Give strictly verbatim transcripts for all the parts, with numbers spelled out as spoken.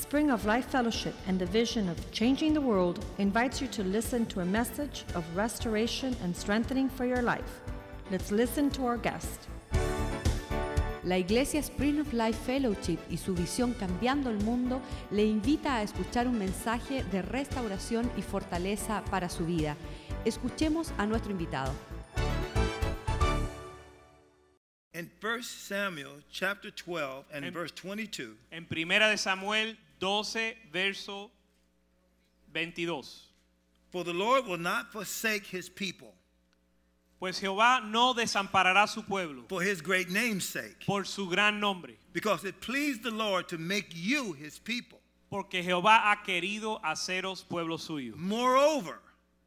Spring of Life Fellowship and the vision of changing the world invites you to listen to a message of restoration and strengthening for your life. Let's listen to our guest. La Iglesia Spring of Life Fellowship y su visión Cambiando el Mundo le invita a escuchar un mensaje de restauración y fortaleza para su vida. Escuchemos a nuestro invitado. In First Samuel chapter twelve and en, verse twenty-two. En Primera de Samuel doce verso veintidós. For the Lord will not forsake his people. Pues Jehová no desamparará su pueblo. For his great name's sake. Por su gran nombre. Because it pleased the Lord to make you his people. Porque Jehová ha querido haceros pueblo suyo. Moreover.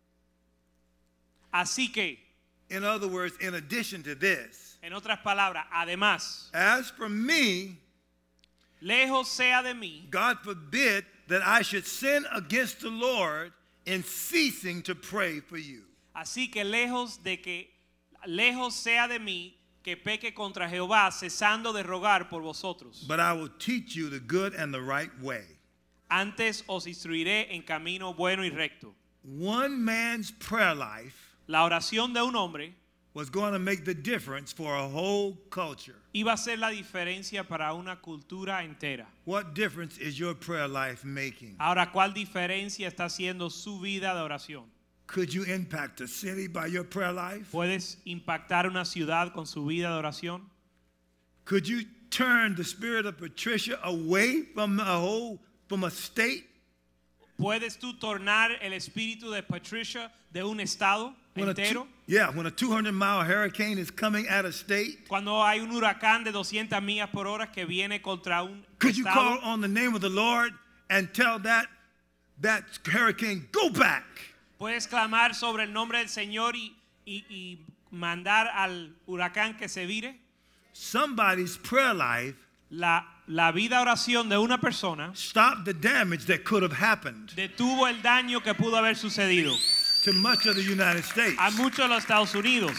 Así que. In other words, in addition to this. En otras palabras, además, as for me, lejos sea de mí, God forbid that I should sin against the Lord in ceasing to pray for you. Así que lejos de que lejos sea de mí que peque contra Jehová, cesando de rogar por vosotros. But I will teach you the good and the right way. Antes os instruiré en camino bueno y recto. One man's prayer life, la oración de un hombre, was going to make the difference for a whole culture. Iba a ser la diferencia para una cultura entera. What difference is your prayer life making? Ahora, ¿cuál diferencia está haciendo su vida de oración? Could you impact a city by your prayer life? ¿Puedes impactar una ciudad con su vida de oración? Could you turn the spirit of Patricia away from a whole from a state? ¿Puedes tú tornar el espíritu de Patricia de un estado when entero? A two, yeah, when a two hundred mile hurricane is coming at a state. Cuando hay un huracán de doscientas millas por hora que viene contra un Could estado. you call on the name of the Lord and tell that that hurricane go back? Puedes clamar sobre el nombre del Señor y, y, y mandar al huracán que se vire. Somebody's prayer life. La, la vida oración de una persona stop the damage that could have happened. Detuvo el daño que pudo haber sucedido. To much of the United States. A muchos de los Estados Unidos.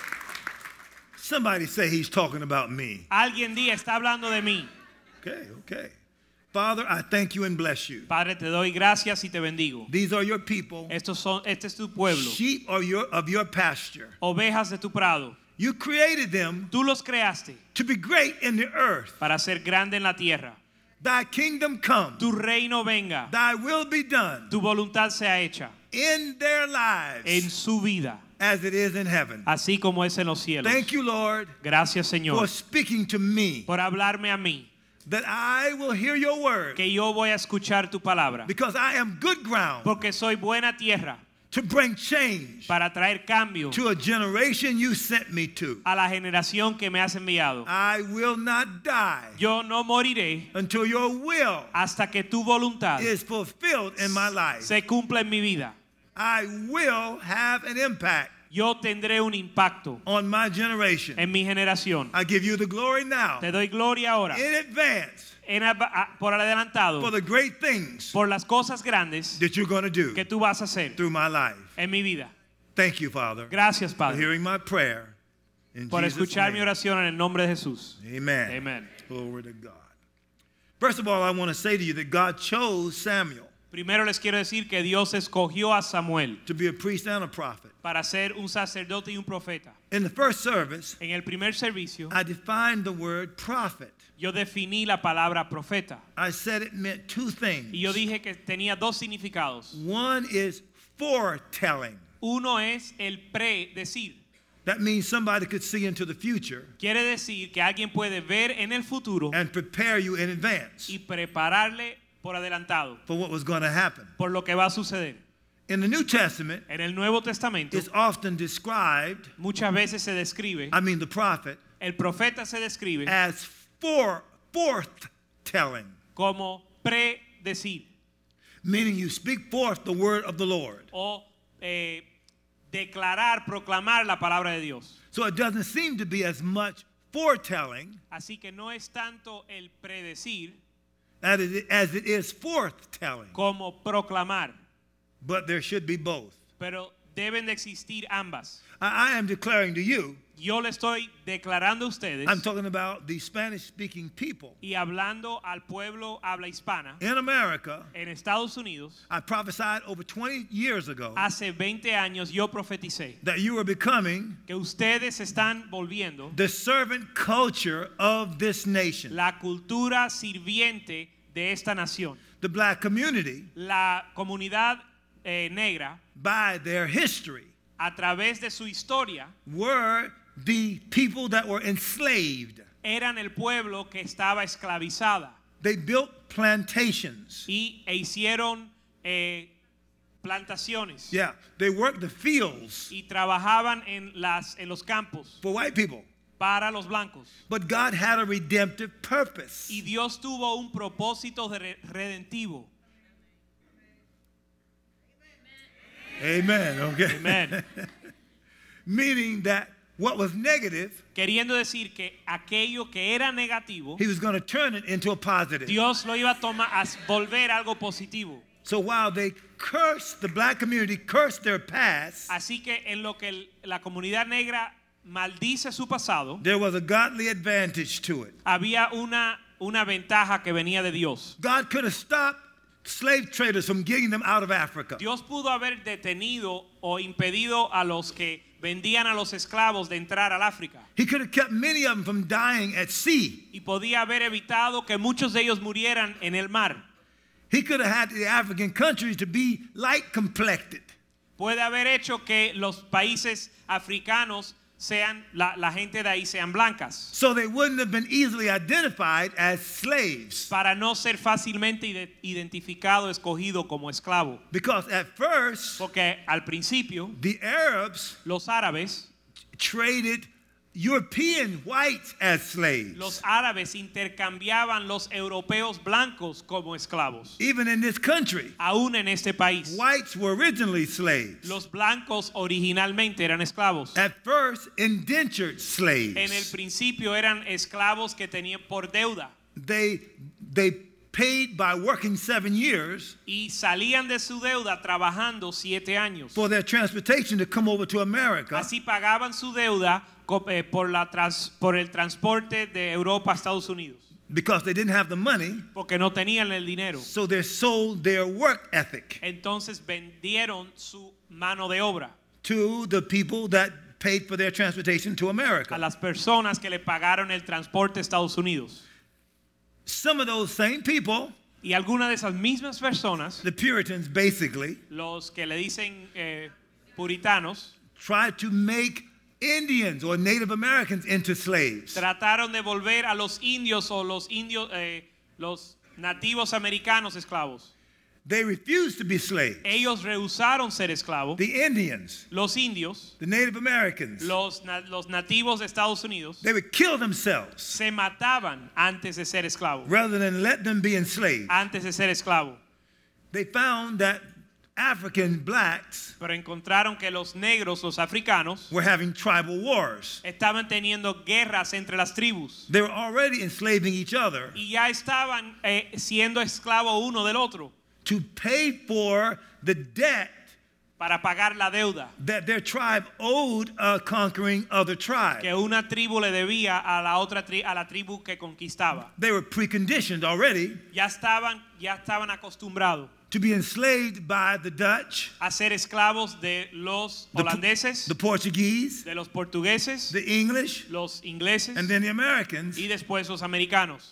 Somebody say he's talking about me. Alguien diga está hablando de mí. Okay, okay. Father, I thank you and bless you. Padre, te doy gracias y te bendigo. These are your people. Estos son, este es tu pueblo. Sheep are your, of your pasture. Ovejas de tu prado. You created them. Tú los creaste. To be great in the earth. Para ser grande en la tierra. Thy kingdom come. Tu reino venga. Thy will be done. Tu voluntad sea hecha. In their lives. En su vida. As it is in heaven. Así como es en los cielos. Thank you, Lord. Gracias, Señor. For speaking to me. Por hablarme a mí. That I will hear your word. Que yo voy a escuchar tu palabra. Because I am good ground. Porque soy buena tierra. To bring change. Para traer cambio. To a generation you sent me to. A la generación que me has enviado. I will not die. Yo no moriré. Until your will. Hasta que tu voluntad. Is fulfilled in my life. Se cumpla en mi vida. I will have an impact. Yo tendré un impacto on my generation. En mi generación. I give you the glory now. Te doy gloria ahora. In advance. En, por adelantado. For the great things. Por las cosas grandes. That you're going to do. Que tú vas a hacer. Through my life. En mi vida. Thank you, Father. Gracias, Padre. For hearing my prayer. In por Jesus' escuchar name. mi oración en el nombre de Jesús. Amen. Amen. Glory to God. First of all, I want to say to you that God chose Samuel. Primero les quiero decir que Dios escogió a Samuel to be a priest and a prophet. Para ser un sacerdote y un profeta. In the first service, en el primer servicio, I defined the word prophet. Yo definí la palabra profeta. I said it meant two things. Y yo dije que tenía dos significados. One is foretelling. Uno es el predecir. That means somebody could see into the future. Quiere decir que alguien puede ver en el futuro. And prepare you in advance. Y prepararle por adelantado. For what was going to happen. Por lo que va a suceder. In the New Testament, en el Nuevo Testamento, it's often described. Muchas veces se describe. I mean the prophet. El profeta se describe. As for forthtelling. Como predecir. Meaning you speak forth the word of the Lord. O eh, declarar, proclamar la palabra de Dios. So it doesn't seem to be as much foretelling. Así que no es tanto el predecir. As it, as it is forthtelling. Como proclamar. But there should be both. Pero deben de existir ambas. I, I am declaring to you, Yo le estoy declarando a ustedes I'm talking about the Spanish-speaking people y hablando al pueblo habla hispana in America. en Estados Unidos. I prophesied over twenty years ago Hace veinte años yo profeticé that you are becoming que ustedes están volviendo the servant culture of this nation. la cultura sirviente de esta nación. The black community, La comunidad eh, negra, by their history, a través de su historia, were the people that were enslaved. eran el pueblo que estaba esclavizada They built plantations. y e hicieron eh, plantaciones Yeah, they worked the fields y trabajaban en, las, en los campos for white people. para los blancos. But God had a redemptive purpose. Y Dios tuvo un propósito de re- redentivo. Amen. Okay. Amen. Meaning that what was negative, Queriendo decir que aquello que era negativo, he was going to turn it into a positive. Dios lo iba a tomar a volver algo positivo. So while they cursed, the black community cursed their past, Así que en lo que el- la comunidad negra maldice su pasado, there was a godly advantage to it. había una, una ventaja que venía de Dios. God could have stopped slave traders from getting them out of Africa. Dios pudo haber detenido o impedido a los que vendían a los esclavos de entrar al África. He could have kept many of them from dying at sea. Y podía haber evitado que muchos de ellos murieran en el mar. He could have had the African countries to be light complected. Puede haber hecho que los países africanos sean, la, la gente de ahí sean blancas, So they wouldn't have been easily identified as slaves. para no ser fácilmente ide- identificado, escogido como esclavo. Because at first, Porque al principio the Arabs los árabes, traded European whites as slaves. los árabes intercambiaban los europeos blancos como esclavos. Even in this country, Aún en este país, whites were originally slaves. los blancos originalmente eran esclavos. At first, indentured slaves. En el principio eran esclavos que tenían por deuda They they paid by working seven years y salían de su deuda trabajando siete años. for their transportation to come over to America. Así pagaban su deuda co- eh, por, la trans- por el transporte de Europa a Estados Unidos, Because they didn't have the money, porque no tenían el dinero. so they sold their work ethic Entonces vendieron su mano de obra to the people that paid for their transportation to a America. las personas que le pagaron el transporte a Estados Unidos. Some of those same people, Y algunas de esas mismas personas, the Puritans basically, los que le dicen eh, puritanos, tried to make Indians or Native Americans into slaves. trataron de volver a los indios o los indios, eh, los nativos americanos esclavos. They refused to be slaves. Ellos rehusaron ser esclavos. The Indians, Los indios, the Native Americans, los, na- los nativos de Estados Unidos, they would kill themselves se mataban antes de ser esclavos. rather than let them be enslaved. Antes de ser esclavo. They found that African blacks Pero encontraron que los negros, los africanos, were having tribal wars. estaban teniendo guerras entre las tribus. They were already enslaving each other Y ya estaban eh, siendo esclavos uno del otro to pay for the debt para pagar la deuda that their tribe owed a conquering other tribe. que una tribu le debía a la otra tri- a la tribu que conquistaba. They were preconditioned already Ya estaban, ya estaban acostumbrados to be enslaved by the Dutch, a ser esclavos de los the, Po- holandeses, the Portuguese, de los portugueses, the English, los ingleses and then the Americans. y después los americanos.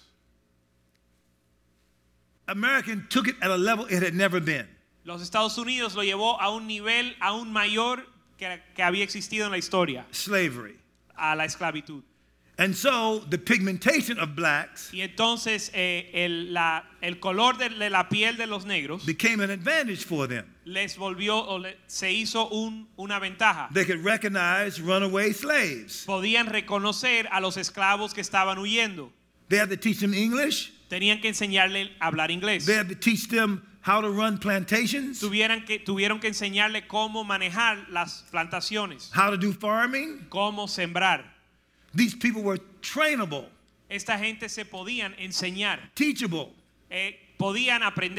American took it at a level it had never been. Los Estados Unidos lo llevó a un nivel aún mayor que, que había existido en la historia, Slavery. a la esclavitud. And so the pigmentation of blacks Y entonces eh, el, la, el color de, de la piel de los negros became an advantage for them. les volvió o le- se hizo un, una ventaja. They could recognize runaway slaves. Podían reconocer a los esclavos que estaban huyendo. They had to teach them English. Tenían que enseñarle a hablar inglés. They had to teach them how to run plantations, Tuvieran que, tuvieron que enseñarle cómo manejar las plantaciones, how to do farming. cómo sembrar. These people were trainable, Esta gente se podían enseñar, teachable. eh, podían aprender.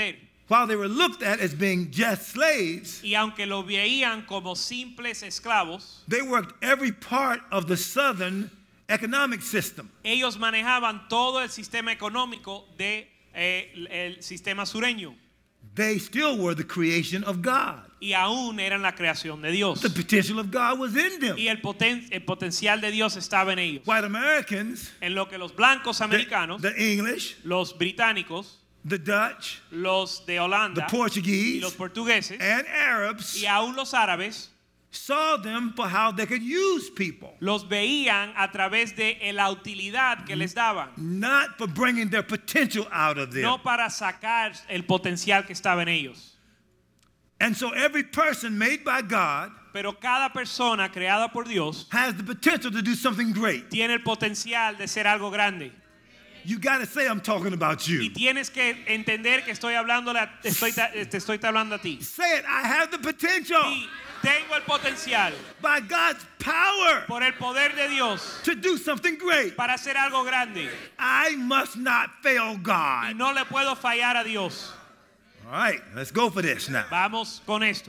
while they were looked at as being just slaves, y aunque lo veían como simples esclavos, they worked every part of the southern economic system. ellos manejaban todo el sistema económico de eh, el sistema sureño They still were the creation of God. y aún eran la creación de Dios. The potential of God was in them. Y el, poten el potencial de Dios estaba en ellos. White Americans, En lo que los blancos the, americanos, the English, los británicos, the Dutch, los de the Holanda y Portuguese, los portugueses and Arabs y aún los árabes saw them for how they could use people, los veían a través de la utilidad que les daban, not for bringing their potential out of them. no para sacar el potencial que estaba en ellos. And so every person made by God Pero cada persona creada por Dios has the potential to do something great. tiene el potencial de ser algo grande. You got to say I'm talking about Y you. tienes que entender que estoy hablando, te estoy, te estoy hablando a ti. Say it, I have the potential Y tengo el potencial by God's power por el poder de Dios to do something great. para hacer algo grande. I must not fail Y God. no le puedo fallar a Dios. All right, let's go for this now. Vamos con esto.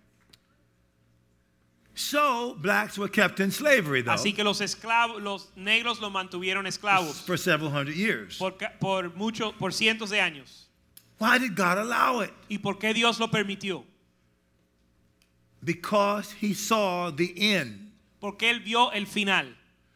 So, blacks were kept in slavery, though, Así que los esclavos, los negros los mantuvieron esclavos for several hundred years. por, ca- por mucho, por cientos de años. Why did God allow it? ¿Y por qué Dios lo permitió? Because he saw the end. Porque él vio el final.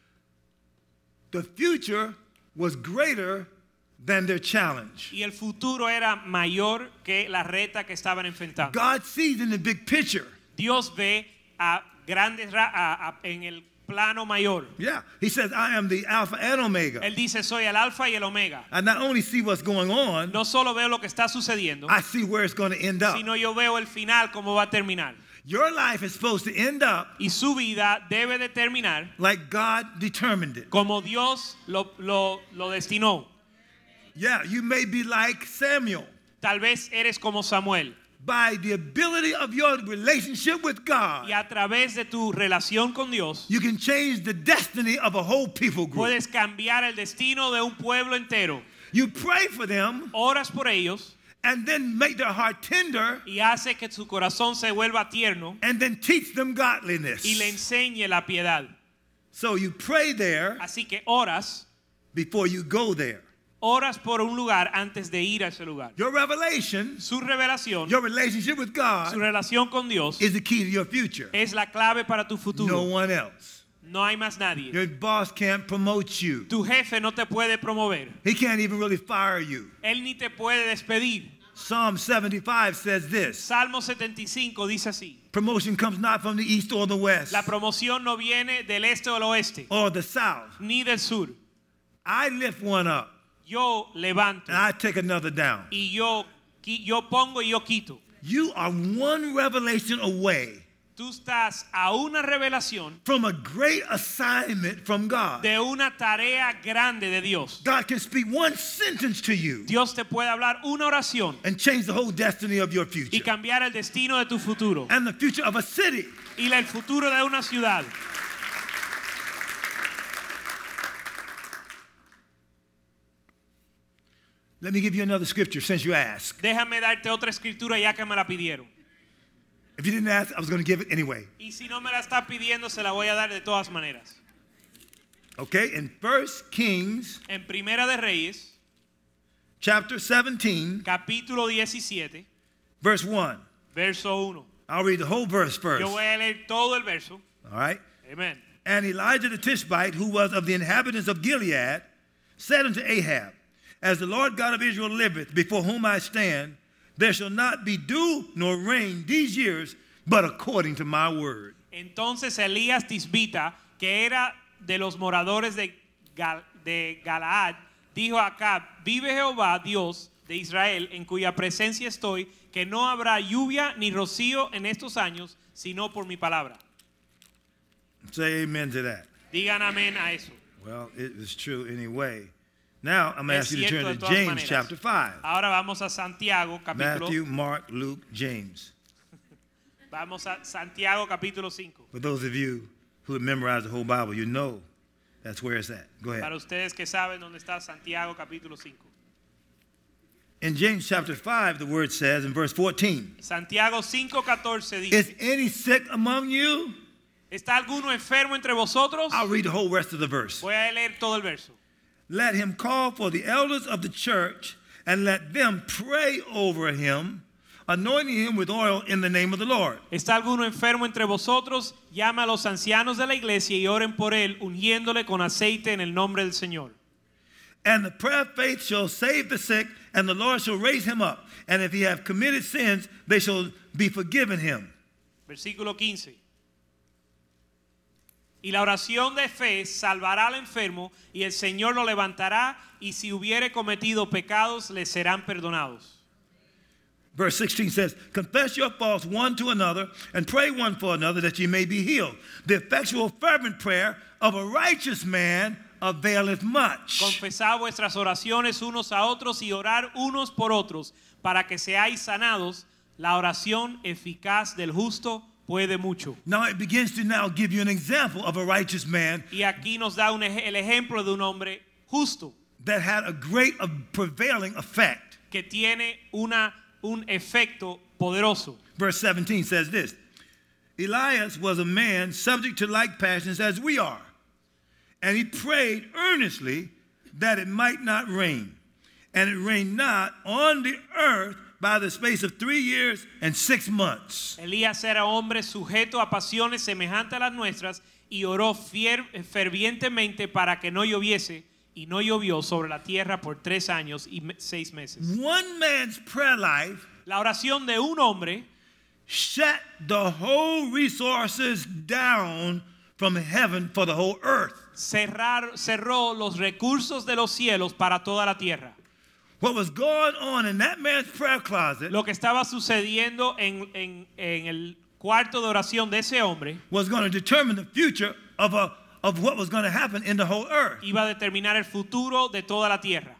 The future was greater than their challenge. Y el futuro era mayor que la reta que estaban enfrentando. God sees in the big picture. Dios ve a grandes ra a, a, en el plano mayor. Yeah, he says, I am the Alpha and Omega. Él dice, soy el alfa y el omega. I not only see what's going on, No solo veo lo que está sucediendo, I see where it's going to end up. sino yo veo el final, cómo va a terminar. Your life is supposed to end up Y su vida debe de terminar like God determined it. como Dios lo, lo, lo destinó. Yeah, you may be like Samuel. Tal vez eres como Samuel. By the ability of your relationship with God, Y a través de tu relación con Dios, you can change the destiny of a whole people group. puedes cambiar el destino de un pueblo entero. You pray for them Oras por ellos and then make their heart tender y hace que su corazón se vuelva tierno and then teach them godliness. y le enseñe la piedad. So you pray there Así que oras, before you go there. oras por un lugar antes de ir a ese lugar. Your revelation, Su revelación, your relationship with su God relación con Dios is the key to your future. es la clave para tu No futuro. one else. No hay más nadie. Your boss can't promote you. Tu jefe no te puede promover. He can't even really fire you. Él ni te puede despedir. Psalm seventy-five says this. Salmo setenta y cinco dice así: Promotion comes not from the east or the west la promoción no viene del este o del oeste, or the south. ni del sur. I lift one up Yo levanto and I take another down. y yo, qui- yo pongo y yo quito. You are one revelation away Tú estás a una revelación from a great assignment from God. de una tarea grande de Dios. God can speak one sentence to you Dios te puede hablar una oración and change the whole destiny of your y future cambiar el destino de tu futuro and the future of a city. y el futuro de una ciudad. Let me give you another scripture since you asked. Déjame darte otra escritura ya que me la pidieron. If you didn't ask, I was going to give it anyway. Y si no me la está pidiendo, se la voy a dar de todas maneras. Okay, in First Kings En Primera de Reyes, chapter seventeen, capítulo diecisiete, verse one. verso uno. I'll read the whole verse first. Yo voy a leer todo el verso. All right. Amen. And Elijah the Tishbite, who was of the inhabitants of Gilead, said unto Ahab, As the Lord God of Israel liveth, before whom I stand, there shall not be dew nor rain these years, but according to my word. Entonces Elías Tisbita, que era de los moradores de, Gal de Galaad, dijo a Acab: Vive Jehová, Dios de Israel, en cuya presencia estoy, que no habrá lluvia ni rocío en estos años, sino por mi palabra. Say amen to that. Digan amén a eso. Well, it is true anyway. Now, I'm going to Es ask you to cierto turn de to todas James maneras. chapter five. Ahora vamos a Santiago capítulo. Matthew, Mark, Luke, James. Vamos a Santiago capítulo cinco. For those of you who have memorized the whole Bible, you know that's where it's at. Go ahead. Para ustedes que saben dónde está Santiago capítulo cinco. In James chapter five, the word says in verse fourteen, Santiago cinco catorce dice, is any sick among you? ¿está alguno enfermo entre vosotros? I'll read the whole rest of the verse. Voy a leer todo el verso. Let him call for the elders of the church and let them pray over him, anointing him with oil in the name of the Lord. ¿Está alguno enfermo entre vosotros? Llama a los ancianos de la iglesia y oren por él, ungiéndole con aceite en el nombre del Señor. And the prayer of faith shall save the sick, and the Lord shall raise him up. And if he have committed sins, they shall be forgiven him. Versículo quince. Y la oración de fe salvará al enfermo, y el Señor lo levantará, y si hubiere cometido pecados, le serán perdonados. Verse sixteen says, confess your faults one to another, and pray one for another, that ye may be healed. The effectual fervent prayer of a righteous man availeth much. Confesad vuestras oraciones unos a otros y orar unos por otros, para que seáis sanados. La oración eficaz del justo puede mucho. Now it begins to now give you an example of a righteous man Y aquí nos da un, ej- el ejemplo de un hombre justo that had a great uh, prevailing effect. que tiene una, un efecto poderoso. Verse seventeen says this, Elias was a man subject to like passions as we are, and he prayed earnestly that it might not rain. And it rained not on the earth by the space of three years and six months. Elías era hombre sujeto a pasiones semejantes a las nuestras y oró fier, fervientemente para que no lloviese, y no llovió sobre la tierra por tres años y me, seis meses. One man's prayer life La oración de un hombre shut the whole resources down from heaven for the whole earth. cerrar, cerró los recursos de los cielos para toda la tierra. What was going on in that man's prayer closet Lo que estaba sucediendo en, en, en el cuarto de oración de ese hombre was going to determine the future of, a, of what was going to happen in the whole earth. iba a determinar el futuro de toda la tierra.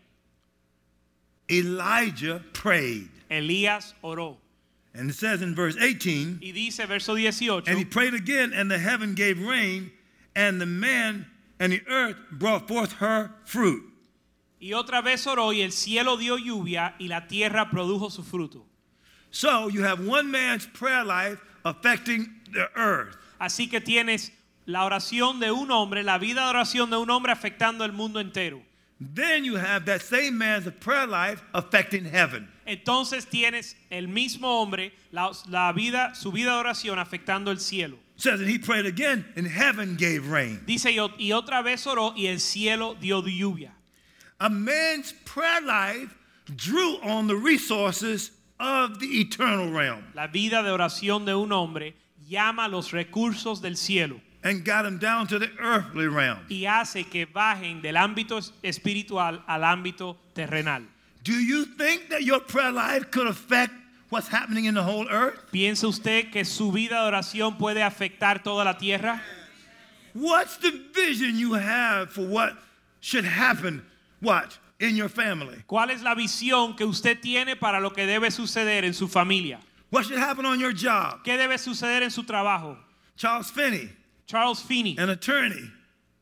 Elijah prayed. Elías oró. And it says in verse eighteen, Y dice verso dieciocho, and he prayed again, and the heaven gave rain, and the man and the earth brought forth her fruit. y otra vez oró y el cielo dio lluvia y la tierra produjo su fruto. So you have one man's prayer life affecting the earth. Así que tienes la oración de un hombre, la vida de oración de un hombre afectando el mundo entero. Then you have that same man's prayer life affecting heaven. Entonces tienes el mismo hombre, la, la vida, su vida de oración afectando el cielo. It says, and he prayed again, and heaven gave rain. Dice, y, o- y otra vez oró y el cielo dio lluvia. A man's prayer life drew on the resources of the eternal realm La vida de oración de un hombre llama los recursos del cielo and got him down to the earthly realm. y hace que bajen del ámbito es- espiritual al ámbito terrenal. Do you think that your prayer life could affect what's happening in the whole earth? ¿Piensa usted que su vida de oración puede afectar toda la tierra? What's the vision you have for what should happen, what, in your family? ¿Cuál es la visión que usted tiene para lo que debe suceder en su familia? What should happen on your job? ¿Qué debe suceder en su trabajo? Charles Finney, Charles Finney, an attorney,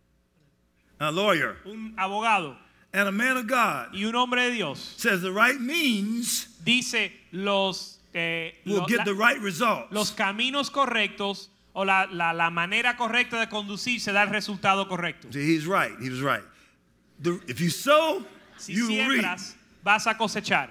a lawyer, un abogado and a man of God, y un hombre de Dios, says the right means dice los, eh, will lo- get la- the right results. los caminos correctos o la, la, la manera correcta de conducirse da el resultado correcto. See, he's right. He was right. The, if you sow, Si you reap. siembras, vas a cosechar.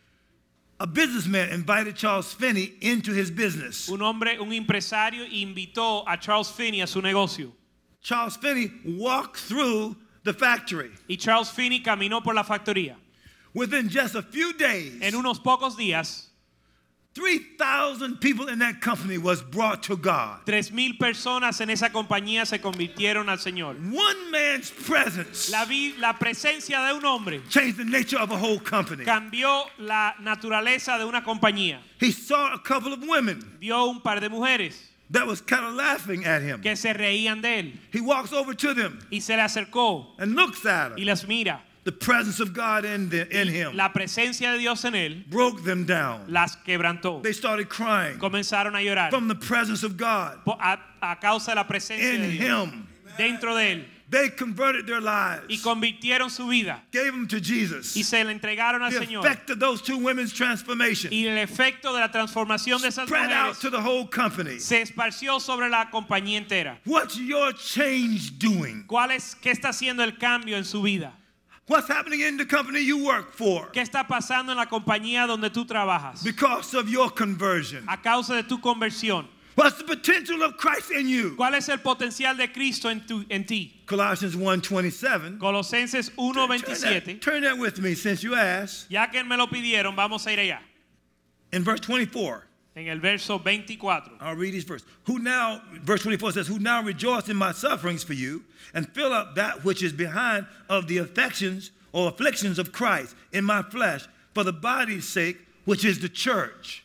A businessman invited Charles Finney into his business. Un hombre, un empresario invitó a Charles Finney a su negocio. Charles Finney walked through the factory. Y Charles Finney caminó por la factoría. Within just a few days, En unos pocos días, three thousand people in that company was brought to God. tres mil personas en esa compañía se convirtieron al Señor. One man's presence La, vi- la presencia de un hombre changed the nature of a whole company. cambió la naturaleza de una compañía. He saw a couple of women Vio un par de mujeres that was kind of laughing at him. que se reían de él He walks over to them y se le acercó and looks at y them. las mira. The presence of God in, the, in him La presencia de Dios en él broke them down. las quebrantó. They started crying Comenzaron a llorar from the presence of God po- a, a causa de la presencia in de Dios him. dentro de él. They converted their lives, y convirtieron su vida gave them to Jesus. y se le entregaron al The Señor. effect of those two women's transformation Y el efecto de la transformación de esas spread out mujeres to the whole company. se esparció sobre la compañía entera. What's your change doing? ¿Cuál es, qué está haciendo el cambio en su vida? What's happening in the company you work for ¿Qué está pasando en la compañía donde tú trabajas? because of your conversion? A causa de tu conversión. What's the potential of Christ in you? ¿Cuál es el potencial de Cristo en, tu, en ti? Colossians one twenty-seven. Colosenses uno Turn veintisiete. that, turn that with me since you asked. Ya que me lo pidieron, vamos a ir allá. In verse twenty-four. En el verso veinticuatro. I'll read these verses. Who now, verse twenty-four says, who now rejoice in my sufferings for you and fill up that which is behind of the affections or afflictions of Christ in my flesh for the body's sake, which is the church.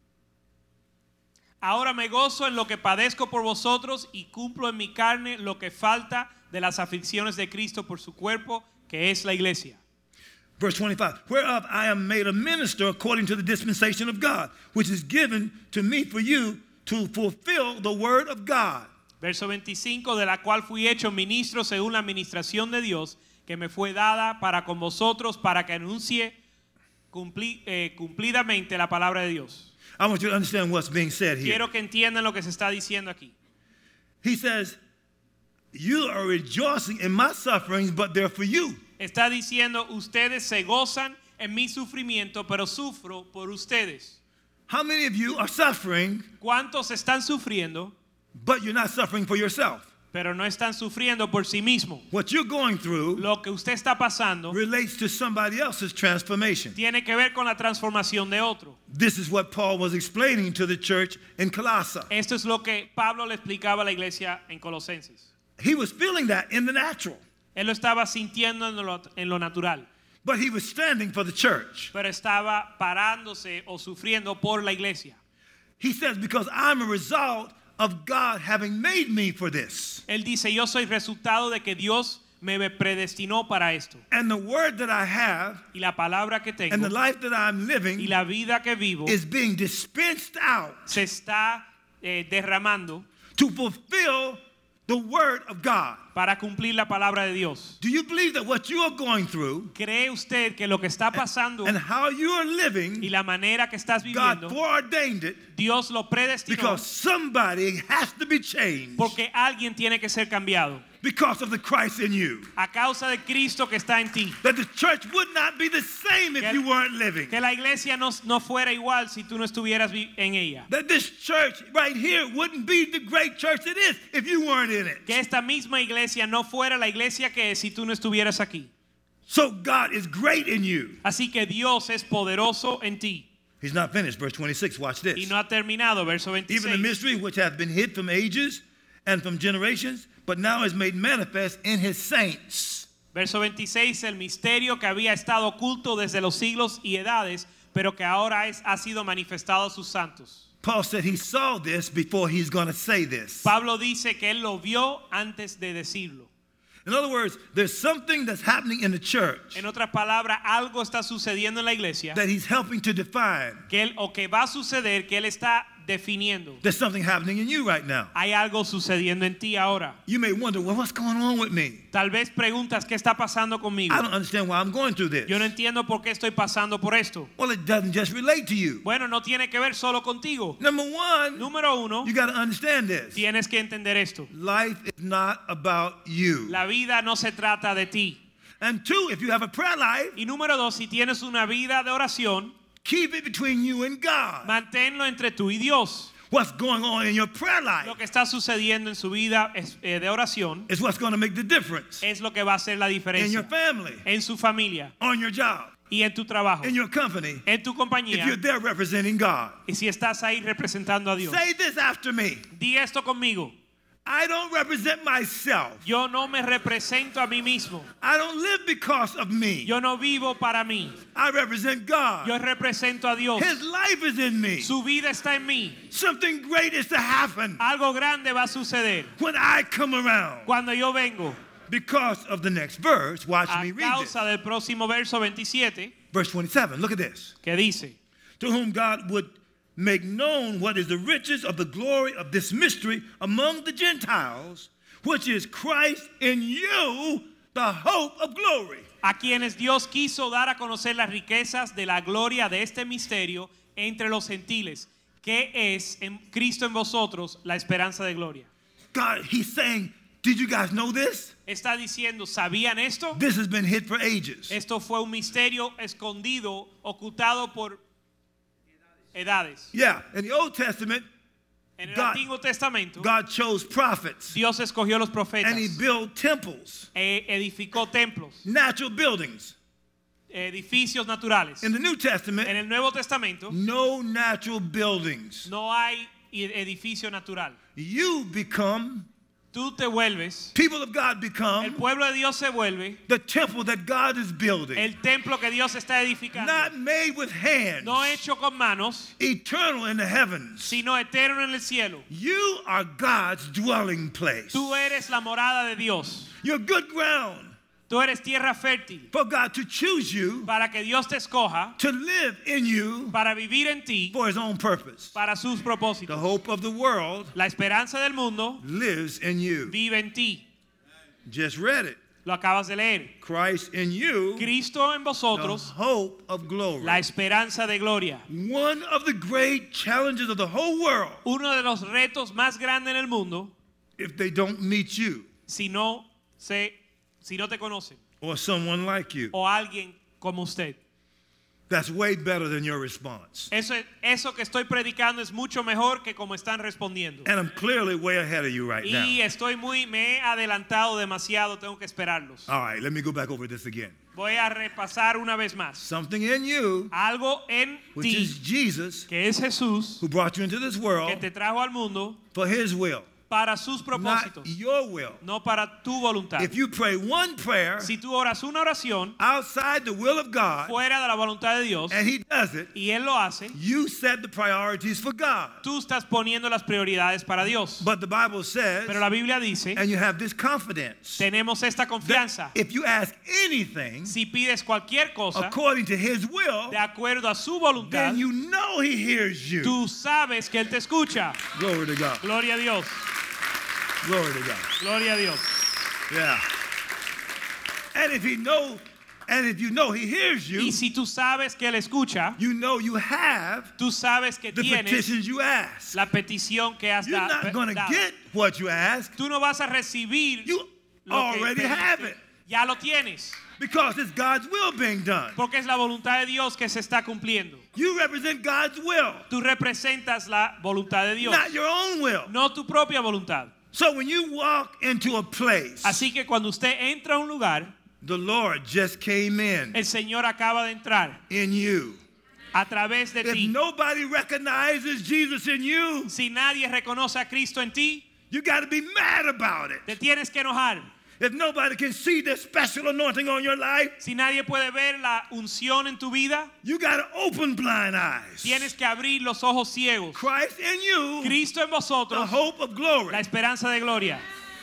Ahora me gozo en lo que padezco por vosotros y cumplo en mi carne lo que falta de las aflicciones de Cristo por su cuerpo, que es la iglesia. Verse twenty-five, whereof I am made a minister according to the dispensation of God, which is given to me for you to fulfill the word of God. Verso veinticinco, de la cual fui hecho ministro según la administración de Dios, que me fue dada para con vosotros, para que anuncie cumpli, eh, cumplidamente la palabra de Dios. I want you to understand what's being said here. Quiero que entiendan lo que se está diciendo aquí. He says, you are rejoicing in my sufferings, but they're for you. Está diciendo, ustedes se gozan en mi sufrimiento, pero sufro por ustedes. How many of you are suffering, ¿Cuántos están sufriendo, but you're not suffering for yourself? pero no están sufriendo por sí mismos? What you're going through Lo que usted está pasando relates to somebody else's transformation. tiene que ver con la transformación de otro. This is what Paul was explaining to the church in Colossae. Esto es lo que Pablo le explicaba a la iglesia en Colosenses. He was feeling that in the natural, Él lo estaba sintiendo en lo, en lo natural, but he was standing for the church. pero estaba parándose o sufriendo por la iglesia. He says, because I'm a result of God having made me for this. Él dice, yo soy resultado de que Dios me predestinó para esto. And the word that I have Y la palabra que tengo and the life that I'm y living la vida que vivo is being dispensed out se está eh, derramando to fulfill the word of God. para cumplir la palabra de Dios. Do you believe that what you are going through ¿Cree usted que lo que está pasando and how you are y living, la manera que estás God viviendo, foreordained it Dios lo predestinó because somebody has to be changed porque alguien tiene que ser cambiado because of the Christ in you? a causa de Cristo que está en ti? That the church would not be the same if Que- you weren't living. Que la iglesia no, no fuera igual si tú no estuvieras vi- en ella. That this church right here wouldn't be the great church it is if you weren't in it. Que esta misma iglesia no fuera la iglesia que es si tú no estuvieras aquí. So God is great in you. Así que Dios es poderoso en ti. He's not finished. Verse twenty-six, watch this. Y no ha terminado, verso Even the veintiséis. mystery which hath been hid from ages and from generations, but now is made manifest in his saints. Verso veintiséis, el misterio que había estado oculto desde los siglos y edades, pero que ahora es, ha sido manifestado a sus santos. Paul said he saw this before he's going to say this. Pablo dice que él lo vio antes de decirlo. In other words, there's something that's happening in the church En otras palabras, algo está sucediendo en la iglesia that he's helping to define. que él, o que va a suceder que él está definiendo. There's something happening in you right now. Hay algo sucediendo en ti ahora. You may wonder, well, what's going on with me? Tal vez preguntas, ¿qué está pasando conmigo? I don't understand why I'm going through this. Yo no entiendo por qué estoy pasando por esto. Well, it doesn't just relate to you. Bueno, no tiene que ver solo contigo. Number one, Número uno, you got to understand this. tienes que entender esto. Life is not about you. La vida no se trata de ti. And two, if you have a prayer life, Y número dos, si tienes una vida de oración, keep it between you and God. manténlo entre tú y Dios. What's going on in your prayer life Lo que está sucediendo en su vida es- eh, de oración is what's going to make the difference es lo que va a hacer la in your diferencia family, en su familia on your job, y en tu trabajo, in your company, en tu if you're compañía there representing God. y si estás ahí representando a Dios. Say this after me. Di esto conmigo. I don't represent myself. Yo no me represento a mí mismo. I don't live because of me. Yo no vivo para mí. I represent God. Yo represento a Dios. His life is in me. Su vida está en mí. Something great is to happen Algo grande va a suceder when I come around. cuando yo vengo. Because of the next verse, watch A me read this. causa del próximo verso veintisiete, Verse twenty-seven, look at this. que dice, To whom God would make known what is the riches of the glory of this mystery among the Gentiles, which is Christ in you, the hope of glory. A quienes Dios quiso dar a conocer las riquezas de la gloria de este misterio entre los gentiles, que es en Cristo en vosotros la esperanza de gloria. God, he's saying, did you guys know this? Está diciendo, ¿sabían esto? This has been hid for ages. Esto fue un misterio escondido, ocultado por edades. Yeah, in the Old Testament, En el God- Antiguo Testamento, God chose prophets Dios escogió los profetas and he built temples, e edificó templos, natural buildings. edificios naturales. In the New En Testament, el Nuevo Testamento no natural buildings. no hay edificio natural. You become, Tú te vuelves, people of God el become pueblo de Dios se vuelve the temple that God is building. el templo que Dios está edificando, Not made with hands, no hecho con manos, eternal in the heavens. sino eterno en el cielo. You are God's dwelling place. Tú eres la morada de Dios. You're good ground Tú eres tierra fértil for God to choose you para que Dios te escoja, to live in you para vivir en ti, for his own purpose. para sus The propósitos. hope of the world La esperanza del mundo lives in you. vive en ti. Just read it. Lo acabas de leer. Christ in you, Cristo en the vosotros, hope of glory. la esperanza de gloria. One of the great challenges of the whole world, Uno de los retos más grandes en el mundo, if they don't meet you si no se, si no te conocen, or someone like you, o alguien como usted. that's way better than your response. Eso, eso que estoy predicando es mucho mejor que como están respondiendo. And I'm clearly way ahead of you right now. Y estoy muy, me he adelantado demasiado, tengo que esperarlos. All right, let me go back over this again. Voy a repasar una vez más. Something in you, Algo en which ti, is Jesus, que es Jesús, who brought you into this que world te trajo al mundo for his will, para sus not propósitos, your will. no para tu voluntad. If you pray one prayer Si tú oras una oración outside the will of God fuera de la voluntad de Dios and he does it, y Él lo hace, you set the priorities for God. tú estás poniendo las prioridades para Dios. But the Bible says, Pero la Biblia dice, and you have this confidence, tenemos esta that confianza. if you ask anything Si pides cualquier cosa according to his will, de acuerdo a su voluntad, then you know he hears you. tú sabes que Él te escucha. Glory to God. Gloria a Dios. Glory to God. Gloria a Dios. Yeah. And if he know, and if you know he hears Y you, si tú sabes que Él escucha, you know you have tú sabes que the tienes petitions you ask. la petición que has You're da- not going to dado. get what you ask. Tú no vas a recibir You lo que already pediste. have it Ya lo tienes. because it's God's will being done. Porque es la voluntad de Dios que se está cumpliendo. You represent God's will, Tú representas la voluntad de Dios, not your own will. no tu propia voluntad. So when you walk into a place, Así que cuando usted entra a un lugar, the Lord just came in el Señor acaba de entrar in you. a través de If ti. nobody recognizes Jesus in you, Si nadie reconoce a Cristo en ti, you got to be mad about it. te tienes que enojar. If nobody can see the special anointing on your life, Si nadie puede ver la unción en tu vida, you got to open blind eyes. tienes que abrir los ojos ciegos. Christ in you, Cristo en the vosotros, hope of glory. la esperanza de gloria.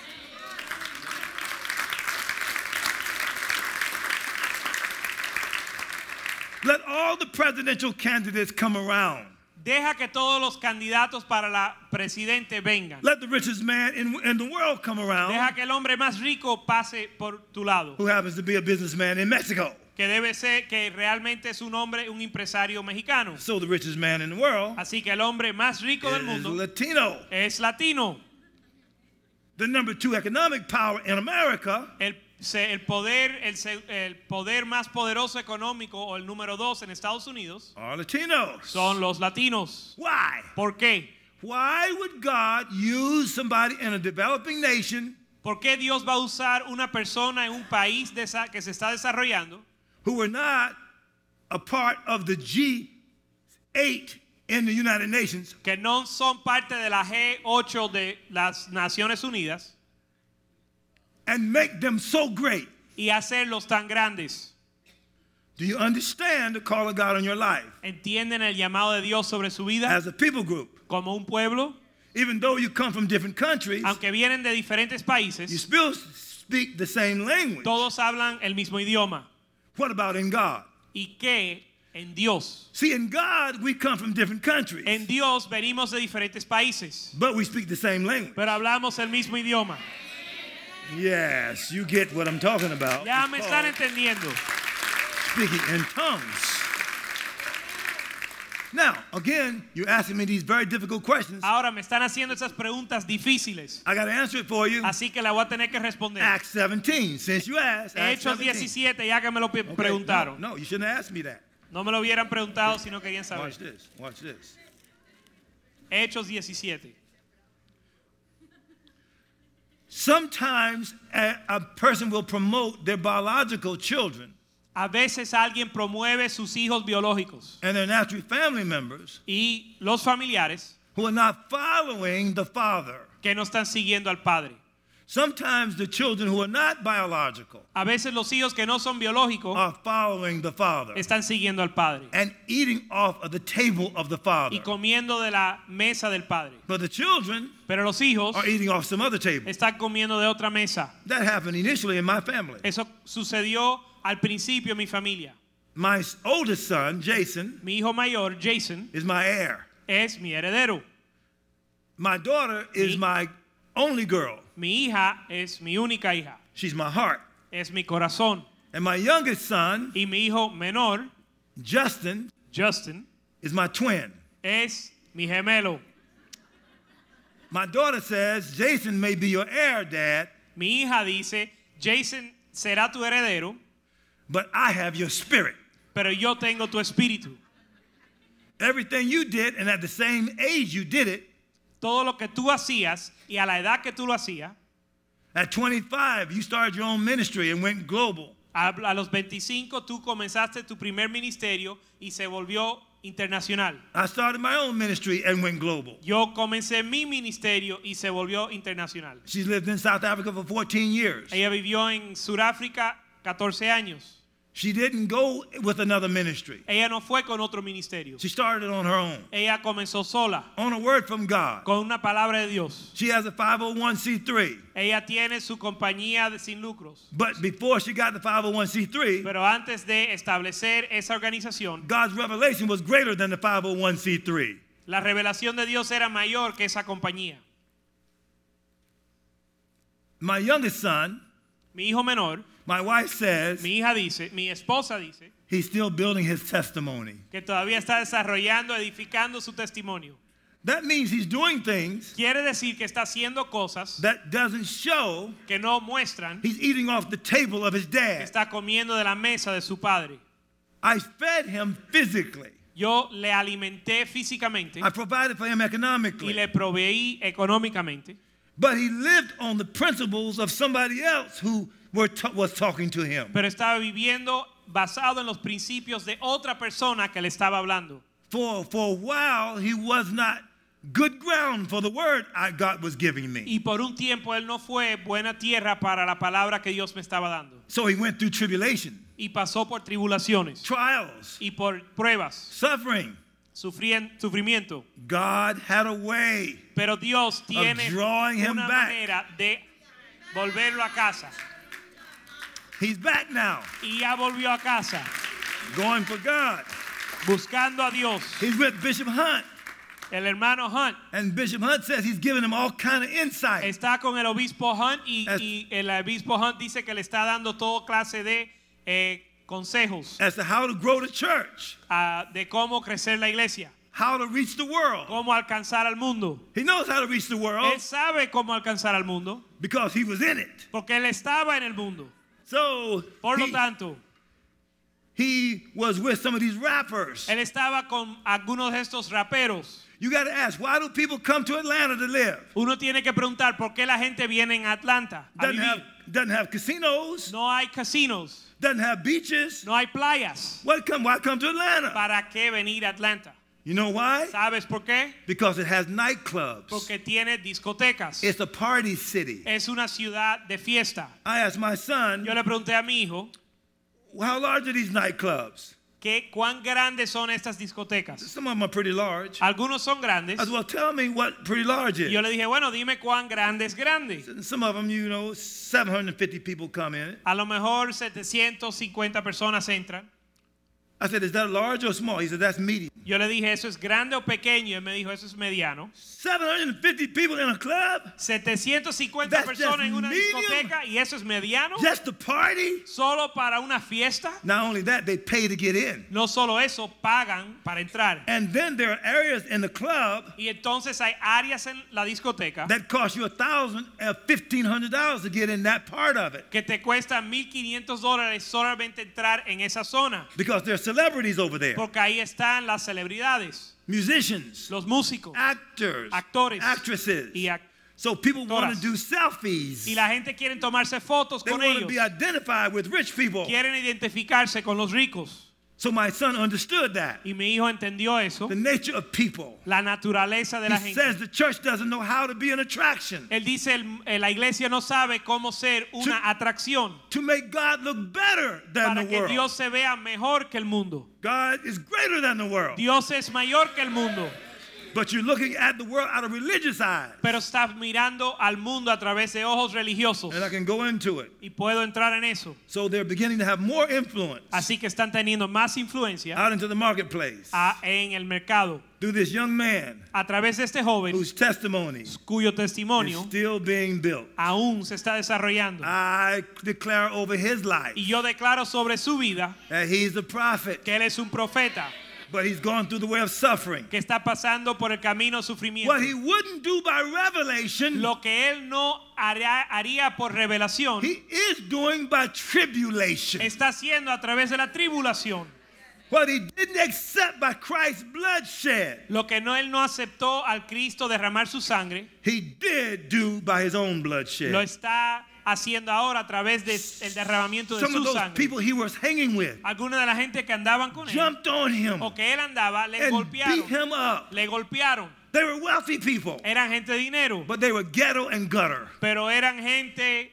Let all the presidential candidates come around. Deja que todos los candidatos para la presidente vengan. Let the richest man in, in the world come around, Deja que el hombre más rico pase por tu lado. who happens to be a businessman in Mexico. Que debe ser que realmente es un hombre, un empresario mexicano. So the richest man in the world Así que el hombre más rico del is mundo Latino. es latino. The number two economic power in America El, se- el poder, el, se- el poder más poderoso económico o el número dos en Estados Unidos are Latinos. son los latinos. Why? ¿Por qué? Why would God use somebody in a developing nation ¿Por qué Dios va a usar una persona en un país desa- que se está desarrollando who were not a part of the G eight in the United Nations que no son parte de la G ocho de las Naciones Unidas and make them so great? y hacerlos tan grandes? Do you understand the call of God on your life ¿Entienden el llamado de Dios sobre su vida as a people group? como un pueblo? Even though you come from different countries, Aunque vienen de diferentes you países, still speak the same language. todos hablan el mismo idioma. What about in God? ¿Y qué en Dios? See, in God, we come from different countries, En Dios venimos de diferentes países, but we speak the same language. pero hablamos el mismo idioma. Yes, you get what I'm talking about. Ya It's me called están entendiendo. speaking in tongues. Now, again, you're asking me these very difficult questions. Ahora me están haciendo esas preguntas difíciles. I got to answer it for you. Así que la voy a tener que responder. Acts seventeen, since you asked. Acts Hechos seventeen. diecisiete, ya que me lo pe- Okay, preguntaron. No, no, you shouldn't have asked me that. No me lo hubieran preguntado si no querían saber. Watch this. Watch this. Hechos diecisiete. Sometimes a, a person will promote their biological children A veces alguien promueve sus hijos biológicos and their natural family members y los familiares who are not following the father. que no están siguiendo al padre. Sometimes the children who are not biological A veces los hijos que no son biológicos are following the father están siguiendo al padre and eating off of the table of the father. y comiendo de la mesa del padre. But the children Pero los hijos are eating off some other table. están comiendo de otra mesa. That happened initially in my family. Eso sucedió al principio en mi familia. My oldest son, Jason, Mi hijo mayor, Jason, is my heir. es mi heredero. My daughter is Mi- my only girl. Mi hija es mi única hija. She's my heart. Es mi corazón. And my youngest son, Y mi hijo menor, Justin, Justin, is my twin. es mi gemelo. My daughter says, Jason may be your heir, Dad, Mi hija dice, Jason será tu heredero, but I have your spirit. pero yo tengo tu espíritu. Everything you did, and at the same age you did it, Todo lo que tú hacías y a la edad que tú lo hacías, at twenty-five, you started your own ministry and went global. a, a los veinticinco tú comenzaste tu primer ministerio y se volvió internacional. I started my own ministry and went global. Yo comencé mi ministerio y se volvió internacional. She's lived in South Africa for fourteen years. Ella vivió en Sudáfrica catorce años. She didn't go with another ministry. Ella no fue con otro ministerio. She started on her own, Ella comenzó sola, on a word from God. con una palabra de Dios. She has a five oh one c three. Ella tiene su compañía de sin lucros. But before she got the five oh one c three, Pero antes de establecer esa organización, God's revelation was greater than the five oh one c three. la revelación de Dios era mayor que esa compañía. My youngest son, Mi hijo menor, my wife says, mi hija dice, mi esposa dice, he's still building his testimony. que todavía está desarrollando, edificando su testimonio. That means he's doing things Quiere decir que está haciendo cosas that doesn't show que no muestran he's eating off the table of his que dad. está comiendo de la mesa de su padre. I fed him physically. Yo le alimenté físicamente I provided for him y economically. le proveí económicamente, But he lived on the principles of somebody else who were ta- was talking to him. pero estaba viviendo basado en los principios de otra persona que le estaba hablando. For, for a while, he was not good ground for the word I, God was giving me. Y por un tiempo él no fue buena tierra para la palabra que Dios me estaba dando. So he went through tribulation, Y pasó por tribulaciones trials, y por pruebas, suffering. sufrien- sufrimiento. God had a way. Pero Dios tiene drawing him una back. manera de volverlo a casa. He's back now, Y ya volvió a casa, going for God. buscando a Dios. He's with Bishop Hunt, El hermano Hunt and Bishop Hunt says he's giving him all kind of insight está con el obispo Hunt y, As- y el obispo Hunt dice que le está dando toda clase de eh, consejos as to how to grow the church, ah, de cómo crecer la iglesia, how to reach the world. cómo alcanzar al mundo. He knows how to reach the world Él sabe cómo alcanzar al mundo because he was in it. porque él estaba en el mundo. So Por lo he, tanto, he was with some of these rappers. él estaba con algunos de estos raperos. You got to ask, why do people come to Atlanta to live? Uno tiene que preguntar por qué la gente viene en Atlanta a Doesn't have, vivir. doesn't have casinos, No hay casinos, doesn't have beaches. no hay playas. What come, why come to Atlanta? ¿Para qué venir a Atlanta? You know why? ¿Sabes por qué? Because it has nightclubs. Porque tiene discotecas. It's a party city. Es una ciudad de fiesta. I asked my son, Yo le pregunté a mi hijo, how large are these nightclubs? ¿qué, ¿cuán grandes son estas discotecas? Some of them are pretty large. Algunos son grandes. I said, well, tell me what pretty large Y is. yo le dije, bueno, dime cuán grande es grande. Some of them, you know, seven hundred fifty people come in it. A lo mejor setecientas cincuenta personas entran. I said, is that large or small? He said, that's medium. Yo le dije, ¿eso es grande o pequeño? Y él me dijo, eso es mediano. seven hundred fifty people in a club? setecientas cincuenta That's personas just en una medium? discoteca y eso es mediano. Just to party? Solo para una fiesta. Not only that, they pay to get in. No solo eso, pagan para entrar. And then there are areas in the club Y entonces hay áreas en la discoteca that cost you a thousand and fifteen hundred dollars to get in that part of it. que te cuesta mil quinientos dólares solamente entrar en esa zona. Because there are celebrities over there. Porque ahí están las celebridades, Musicians, los músicos, actors, actores actresses. y, ac- So people want to actoras. do selfies. y la gente quiere tomarse fotos They con want to ellos. be identified with rich people. Quieren identificarse con los ricos. So my son understood that. Y mi hijo entendió eso, The nature of people. la naturaleza de la He gente. says the church doesn't know how to be an attraction. Él dice, el- eh, la iglesia no sabe cómo ser una To- atracción To make God look better than para the que world. Dios se vea mejor que el mundo. God is greater than the world. Dios es mayor que el mundo, But you're looking at the world out of religious eyes. pero estás mirando al mundo a través de ojos religiosos. And I can go into it. Y puedo entrar en eso. So they're beginning to have more influence Así que están teniendo más influencia out into the marketplace a- en el mercado through this young man a través de este joven whose testimony cuyo is testimonio still being built. aún se está desarrollando. I declare over his life Y yo declaro sobre su vida that he's a prophet, que él es un profeta but he's gone through the way of suffering. que está pasando por el camino de sufrimiento. What he wouldn't do by revelation, Lo que él no haría, haría por revelación, he is doing by tribulation. está haciendo a través de la tribulación. What he didn't accept by Christ's bloodshed, Lo que no él no aceptó al Cristo derramar su sangre, he did do by his own lo bloodshed. está haciendo ahora a través del derramamiento de Some of su those sangre. people he was hanging with Alguna de la gente que andaban con él jumped on him o que él andaba le and golpearon. beat him up. Le golpearon. They were wealthy people, Eran gente de dinero, but they were ghetto and gutter. pero eran gente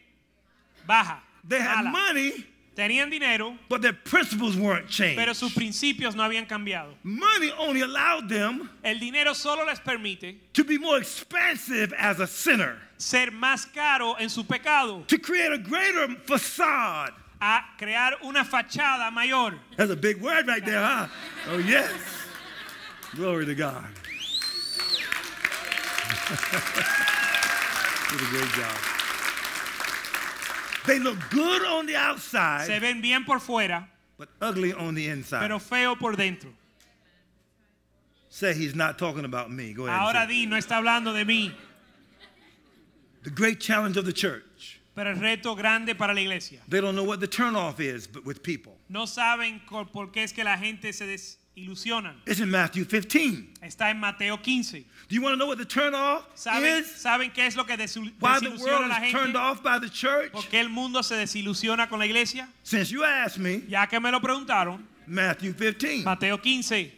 baja. They had mala. money, Tenían dinero, but their principles weren't pero changed. sus principios no habían cambiado. Money only allowed them El dinero solo les permite to be more expansive as a sinner, ser más caro en su pecado, to create a greater facade. a crear una fachada mayor. That's a big word right there, huh? Oh, yes. Glory to God. Did a great job. They look good on the Se outside, ven bien por fuera, but ugly on the inside. pero feo por dentro. Say he's not talking about me. Go ahead. Ahora and say it. di, no está hablando de mí, The great challenge of the church. pero el reto grande para la iglesia. They don't know what the turnoff is, but with people. No saben co- por qué es que la gente se desilusionan. It's in Matthew fifteen. Está en Mateo quince. Do you want to know what the turnoff ¿Saben, is? ¿Saben qué es lo que desil- Why the desilusiona world a la is turned gente? off by the church? ¿Por qué el mundo se desilusiona con la iglesia? Since you asked me, Ya que me lo preguntaron, Matthew fifteen. Mateo quince.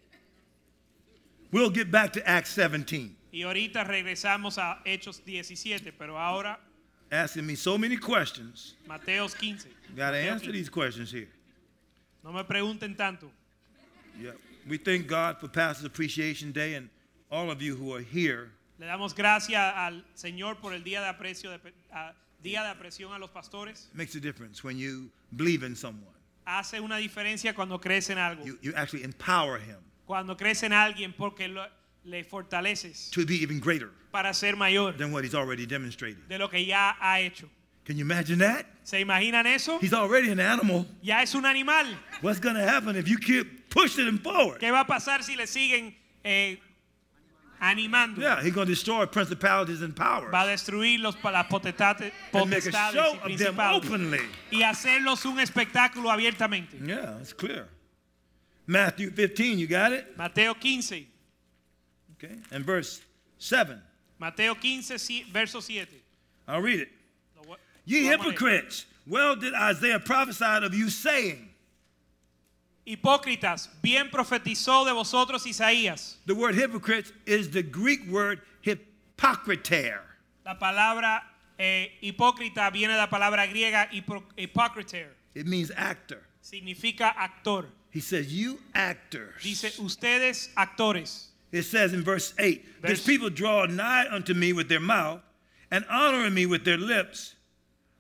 We'll get back to Acts seventeen. Y ahorita regresamos a Hechos diecisiete, pero ahora Asking me so many questions. Mateo quince. Got to Mateo answer quince. these questions here. No me pregunten tanto. Yeah. We thank God for Pastor's Appreciation Day and all of you who are here. Le damos gracias al Señor por el día de aprecio de, a- día de apreciación a los pastores. It makes a difference when you believe in someone. Hace una diferencia cuando crees en algo. You, you actually empower him Cuando crees en alguien porque lo- le fortaleces to be even greater para ser mayor than what he's already demonstrated. de lo que ya ha hecho. Can you imagine that? ¿Se imaginan eso? He's already an animal. Ya es un animal. What's going to happen if you keep pushing him forward? ¿Qué va a pasar si le siguen eh, animando? Yeah, he's going to destroy principalities and powers Va a destruir los, las potestades, and make a potestades show y of them principados openly. y hacerlos un espectáculo abiertamente. Yeah, it's clear. Matthew fifteen, you got it? Mateo quince. Okay. And verse seven. Mateo quince, si- verso siete. I'll read it. Lo voy- Ye lo vamos a leer. hypocrites, well did Isaiah prophesy of you, saying, Hipócritas, bien profetizó de vosotros Isaías. the word hypocrites is the Greek word hypocriter. La palabra eh, hipócrita viene de la palabra griega hipo- hypocriter. It means actor. Significa actor. He says, you actors. Dice, ustedes actores. It says in verse eight, Verse- these people draw nigh unto me with their mouth and honor me with their lips,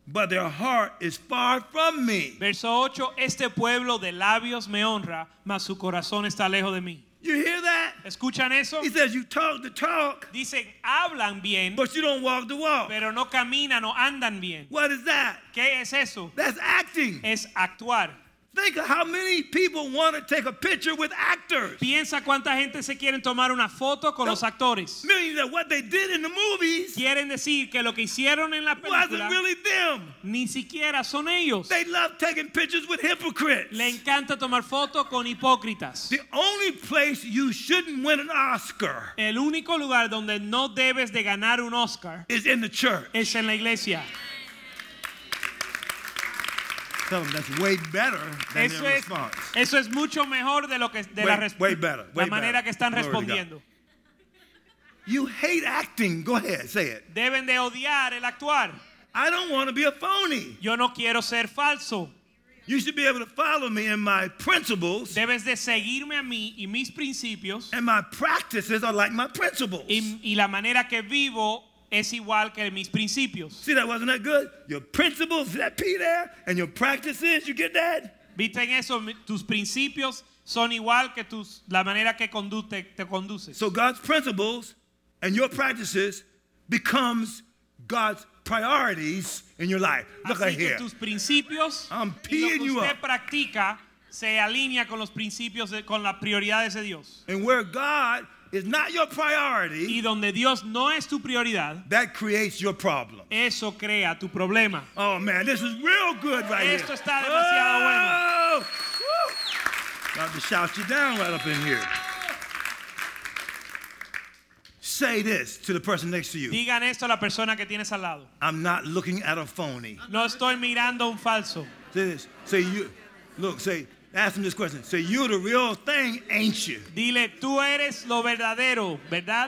but their heart is far from me. Verso ocho, este pueblo de labios me honra, mas su corazón está lejos de mí. You hear that? ¿Escuchan eso? He says you talk the talk, Dicen, hablan bien, but you don't walk the walk. pero no caminan o andan bien. What is that? ¿Qué es eso? That's acting. Es actuar. Think of how many people want to take a picture with actors. Piensa cuánta gente se quieren tomar una foto con No. los actores. Meaning that what they did in the movies Quieren decir que lo que hicieron en la wasn't película really them. ni siquiera son ellos. They love taking pictures with hypocrites. Le encanta tomar fotos con hipócritas. The only place you shouldn't win an Oscar El único lugar donde no debes de ganar un Oscar is in the church. es en la iglesia. Tell them that's way better than Eso their es, response. eso es mucho mejor de lo que de la, Way- res- way better, way la manera better. que están Glory to God. respondiendo. You hate acting. Go ahead, say it. Deben de odiar el actuar. I don't want to be a phony. Yo no quiero ser falso. You should be able to follow me in my principles, Debes de seguirme a mí y mis principios and my practices are like my principles. y, y la manera que vivo es igual que mis principios. See, that wasn't that good? Your principles, see that P there, and your practices, you get that? ¿Viste en eso? Mi- Tus principios son igual que tus, la manera que conduce, te conduces. So God's principles and your practices becomes God's priorities in your life. Look Así right que here. tus principios I'm y lo peeing que you usted up. practica se alinea con los principios, de- con las prioridades de Dios. And where God is not your priority, Y donde Dios no es tu prioridad, that creates your problem. eso crea tu problema. Oh man, this is real good right Esto here. está demasiado oh! Woo! About to shout you down right up in here. Say this to the person next to you. Digan esto a la persona que tienes al lado. I'm not looking at a phony. No estoy mirando un falso. Say this. Say you. Look. Say. Ask him this question. Say you the real thing, ain't you? Dile, tú eres lo verdadero, ¿verdad?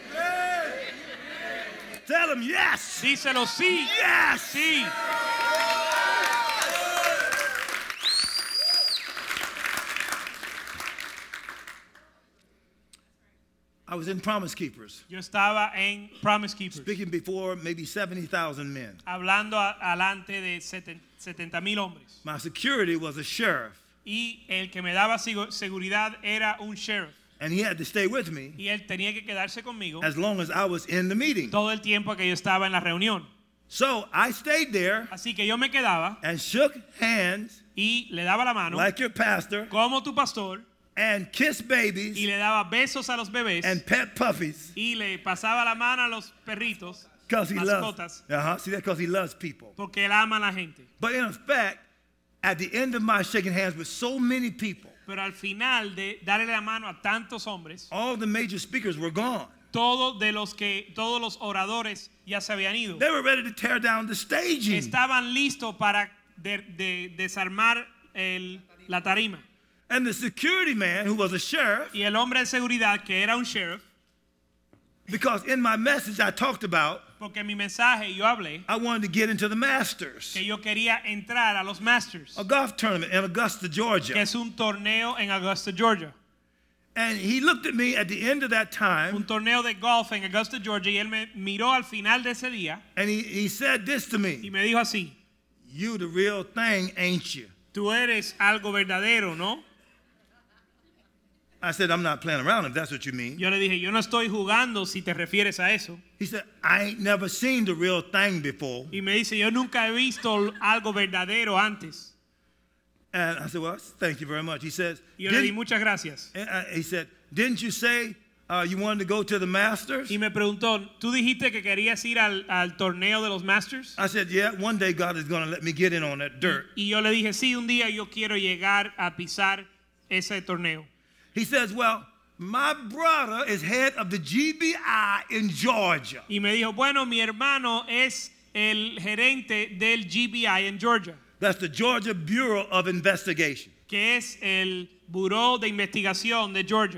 Tell him yes. Díselo, sí, Yes. sí. I was in Promise Keepers, Yo estaba en Promise Keepers, speaking before maybe seventy thousand men. hablando a- alante de setenta mil hombres. My security was a sheriff, Y el que me daba sigo- seguridad era un sheriff. and he had to stay with me Y él tenía que quedarse conmigo as long as I was in the meeting. todo el tiempo que yo estaba en la reunión. So I stayed there Así que yo me quedaba and shook hands y le daba la mano like your pastor como tu pastor and kissed y babies le daba besos a los bebés and pet puppies y le pasaba la mano a los perritos, because he loves. mascotas, Uh-huh. See that? Because he loves people. porque él ama a la gente. But in effect, at the end of my shaking hands with so many people, Pero al final de darle la mano a tantos hombres, all the major speakers were gone. todos de los que todos los oradores ya se habían ido. They were ready to tear down the staging. Estaban listos para de- de- desarmar el- la tarima. And the security man, who was a sheriff, Y el hombre de seguridad, que era un sheriff, because in my message I talked about, porque en mi mensaje yo hablé I wanted to get into the Masters, que yo quería entrar a los Masters, a golf tournament in Augusta, que Georgia. es un torneo en Augusta, Georgia. And he looked at me at the end of that Un time, torneo de golf en Augusta, Georgia, y él me miró al final de ese día and he, he said this to y me: me dijo así, "You the real thing, ain't you?" tú eres algo verdadero, ¿no? I said, "I'm not playing around if that's what you mean." Yo le dije, yo no estoy jugando si te refieres a eso. He said, "I ain't never seen the real thing before." Y me dice, yo nunca he visto algo verdadero antes. And I said, "Well, thank you very much." He says, Y yo le di "Didn't-" muchas gracias. and I- he said, "Didn't you say uh, you wanted to go to the Masters?" Y me preguntó, ¿tú dijiste que querías ir al, al torneo de los Masters? I said, "Yeah, one day God is going to let me get in on that dirt." Y yo le dije, sí, un día yo quiero llegar a pisar ese torneo. He says, "Well, my brother is head of the G B I in Georgia." Y me dijo, bueno, mi hermano es el gerente del G B I en Georgia, That's the Georgia Bureau of Investigation. que es el Buró de Investigación de Georgia.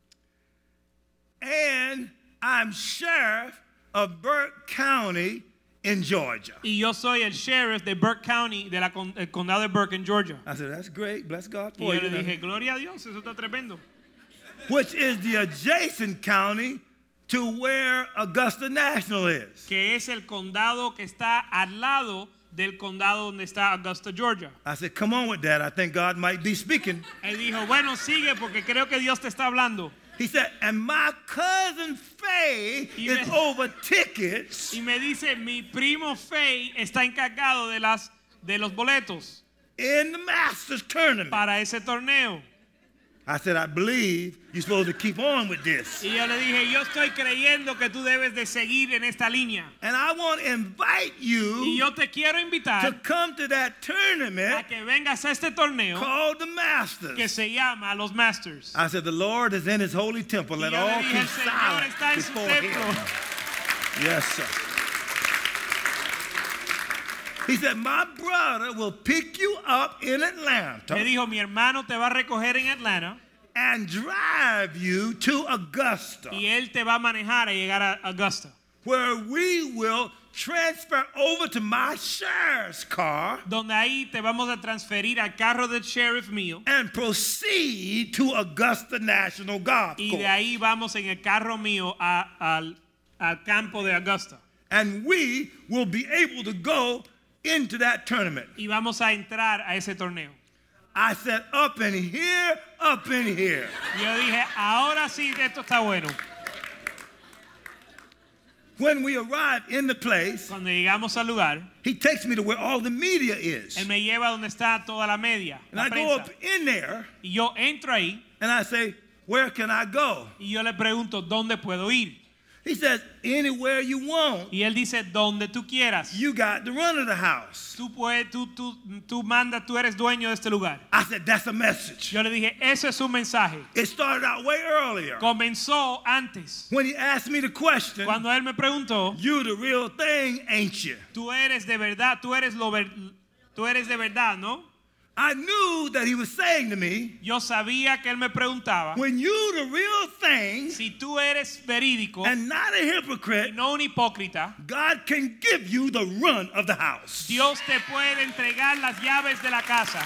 And I'm sheriff of Burke County in Georgia. Y yo soy el sheriff de Burke County, del condado de Burke en Georgia. I said, "That's great. Bless God Y for yo you." le dije, gloria a Dios, eso está tremendo. Which is the adjacent county to where Augusta National is. Que es el condado que está al lado del condado donde está Augusta, Georgia. I said, come on with that. I think God might be speaking. Él dijo, bueno, sigue porque creo que Dios te está hablando. He said, and my cousin Faye Y is me- over tickets Y me dice, mi primo Faye está encargado de las de los boletos in the Masters tournament. para ese torneo. I said, I believe you're supposed to keep on with this. Y yo le dije, yo estoy creyendo que tú debes de seguir en esta línea. And I want to invite Y you yo te quiero to invitar come to that a tournament que vengas a este torneo called the que Masters. se llama los Masters. I said, the Lord is in his holy temple. Y Let yo le all dije, keep el Señor silent está en su before templo. him. Yes, sir. He said, my brother will pick you up in Me Atlanta dijo, mi hermano te va a recoger en Atlanta and drive you to Augusta, y él te va a manejar a llegar a Augusta, where we will transfer over to my sheriff's car donde ahí te vamos a transferir al carro del sheriff mío and proceed to Augusta National Golf y de Course. ahí vamos en el carro mío a- al, al campo de Augusta. And we will be able to go into that tournament. Y vamos a entrar a ese torneo. I said, up in here, up in here. Y yo dije, ahora sí que esto está bueno. When we arrive in the place, Cuando llegamos al lugar, he takes me to where all the media is. él me lleva donde está toda la media, And la I go prensa. up in there Y yo entro ahí and I say, where can I go? y yo le pregunto, ¿dónde puedo ir? He says, anywhere you want. Y él dice, donde tú quieras. You got the run of the house. Tú, puedes, tú, tú, tú mandas, tú eres dueño de este lugar. I said, that's a message. Yo le dije, eso es un mensaje. It started out way earlier. Comenzó antes. When he asked me the question, Cuando él me preguntó, you the real thing, ain't you? tú eres de verdad, tú eres, lo ver- tú eres de verdad, ¿no? I knew that he was saying to me, Yo sabía que él me preguntaba, when you the real thing si tú eres verídico and not a y hypocrite, no un hipócrita, God can give you the run of the house. Dios te puede entregar las llaves de la casa.